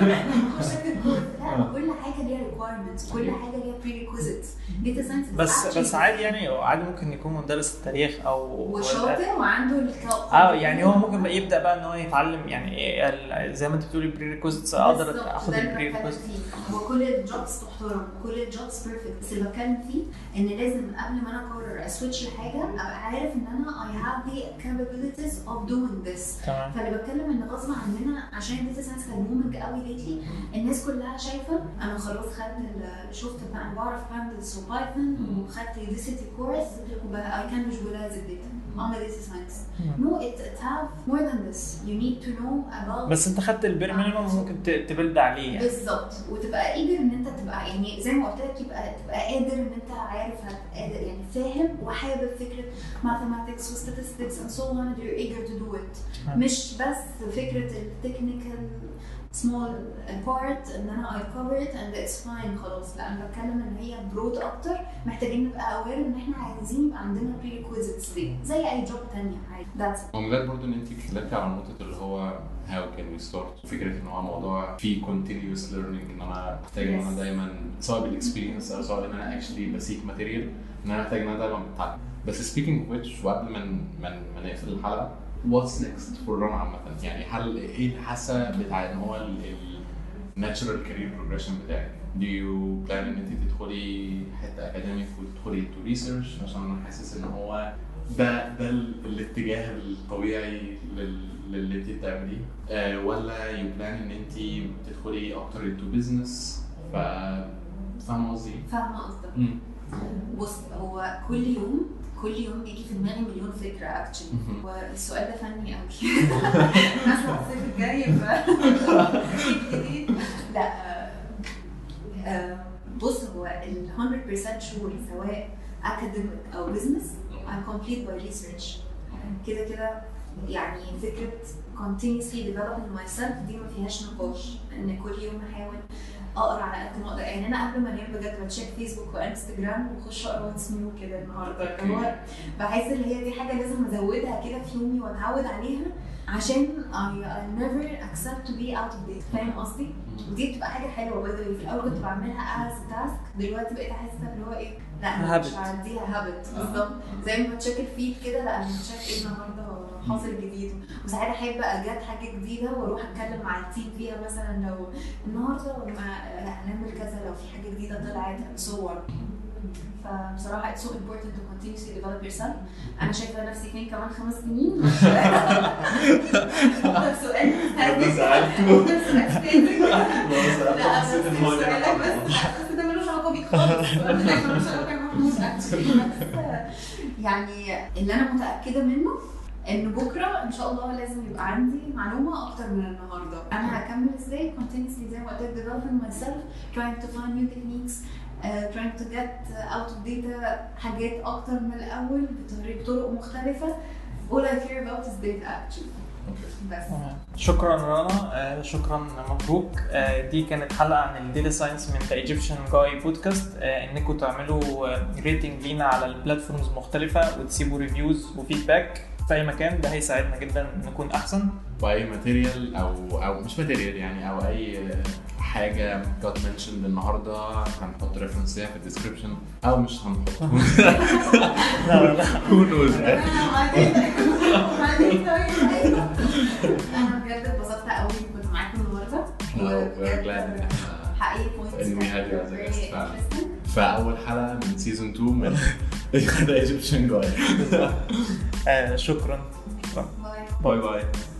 [SPEAKER 3] لا كل حاجه ليها ريكوايرمنتس، كل حاجه ليها بريريكويزيتس. داتا ساينس
[SPEAKER 1] بس عادي يعني عادي ممكن يكون مدرس التاريخ او
[SPEAKER 3] وشاطر كده وعنده
[SPEAKER 1] يعني هو ممكن يبدا بقى ان هو يتعلم يعني زي ما انت بتقولي بري ريكويزيتس اقدر اخد البري ريكويزيتس.
[SPEAKER 3] هو كل الجوبز تحترم كل الجوبز بيرفكت، بس اللي بتكلم فيه ان لازم قبل ما انا اقرر اسويتش لحاجه ابقى عارف ان انا I have the capabilities of doing this. فاللي بتكلم ان غصب عننا عشان الداتا ساينس كان مومنج قوي ليتلي، الناس كلها شايفه انا خلاص شفت بقى انا بعرف باندلز وبايثون وخدت يوديسيتي كورس وبقى I can visualize the data. I'm a data science. No, it have more than this. You need to know about.
[SPEAKER 1] بس انت خدت البير مينيمم ممكن تبلد عليه يعني.
[SPEAKER 3] بالظبط، وتبقى قادر ان انت تبقى يعني زي ما قلت لك تبقى قادر ان انت عارف قادر يعني فاهم وحابب فكره mathematics و statistics and so on and you're eager to do it. مش بس فكره التكنيكال small part ان انا I cover it and it's fine خلاص. لا، انا بتكلم ان هي برود اكتر، محتاجين نبقى aware ان احنا عايزين يبقى عندنا prerequisites دي زي اي جوب تانية عادي. that's
[SPEAKER 2] ومن غير برضه ان انت اتكلمتي على نقطه اللي هو how can we start، فكره ان هو موضوع فيه continuous learning، ان انا محتاج ان انا دايما سواء بالاكسبيرينس او سواء ان انا actually بسيك ماتيريال، ان انا محتاج ان انا دايما بتعلم. بس speaking of which، وقبل ما نقفل الحلقه، what's next for رنا عامة؟ يعني هل ايه الحاسة بتاع ان هو natural career progression بتاعك؟ do you plan ان انت تدخلي حتة اكاديميك وتدخلي to research؟ عشان انا حاسس ان هو ده الاتجاه الطبيعي للي انت بتعمليه، ولا you plan ان انت تدخلي اكتر into business؟ فاهمة قصدي؟
[SPEAKER 3] فاهمة قصدك. بص، هو كل يوم بيجي في دماغي مليون فكرة اكشلي، والسؤال ده فني قوي. مثلا الصيف الجاي جديد. لا، بص، هو 100% شور سواء academic او business I complete by research. كده يعني فكرة continuously developing myself دي ما فيهاش نقاش، ان كل يوم احاول اقرا على قد ما اقدر. يعني انا قبل ما انام بجد بتشيك فيسبوك وانستجرام واخش اقرا واتس نيو كده النهارده. هو بحس ان هي دي حاجه لازم ازودها كده في يومي واتعود عليها، عشان I never accept to be out of date. فاهم قصدي؟ ودي بتبقى حاجه حلوه برضه. في الاول كنت بعملها as task، دلوقتي بقيت احس اللي هو ايه، لا انا مش هعديها هابت. بالظبط زي ما بتشيك الفيد كده، لا انا بتشيك ايه النهارده حاصل جديد. وساعات احب اجات حاجه جديده واروح اتكلم مع التيم فيها، مثلا لو النهارده هنعمل كذا، لو في حاجه جديده طلعت صور. فبصراحه it's so important to continuously develop yourself. انا شايفه نفسي فين كمان 5 سنين. سؤال بس ده ملوش علاقه بيك خالص. يعني اللي انا متاكده منه ان بكره ان شاء الله لازم يبقى عندي معلومه اكتر من النهارده. انا هكمل ازاي continuously زي ما قلت لك developing myself, trying to find new techniques, trying to get out of data حاجات اكتر من الاول بطرق مختلفه. all I care about is data actually. بس
[SPEAKER 1] شكرا رنا، شكرا مبروك. دي كانت حلقه عن الداتا ساينس من ذا ايجيبشن جاي بودكاست. انكم تعملوا ريتنج لينا على البلاتفورمز مختلفه وتسيبوا ريفيوز وفيدباك في اي مكان، ده هيساعدنا جدا نكون احسن.
[SPEAKER 2] واي ماتيريال او مش ماتيريال يعني، او اي حاجه got mentioned النهارده هنحط ريفرنس ليها في الديسكربشن او مش هنحط.
[SPEAKER 1] لا
[SPEAKER 2] who knows.
[SPEAKER 3] انا بجد اتبسطت قوي كنت معاكم النهارده.
[SPEAKER 2] we're glad
[SPEAKER 3] حقيقي
[SPEAKER 2] ان we had you as a guest فعلا. فاول حلقه من سيزون 2 من The Egyptian Guy.
[SPEAKER 1] شكرا.
[SPEAKER 3] باي
[SPEAKER 2] باي.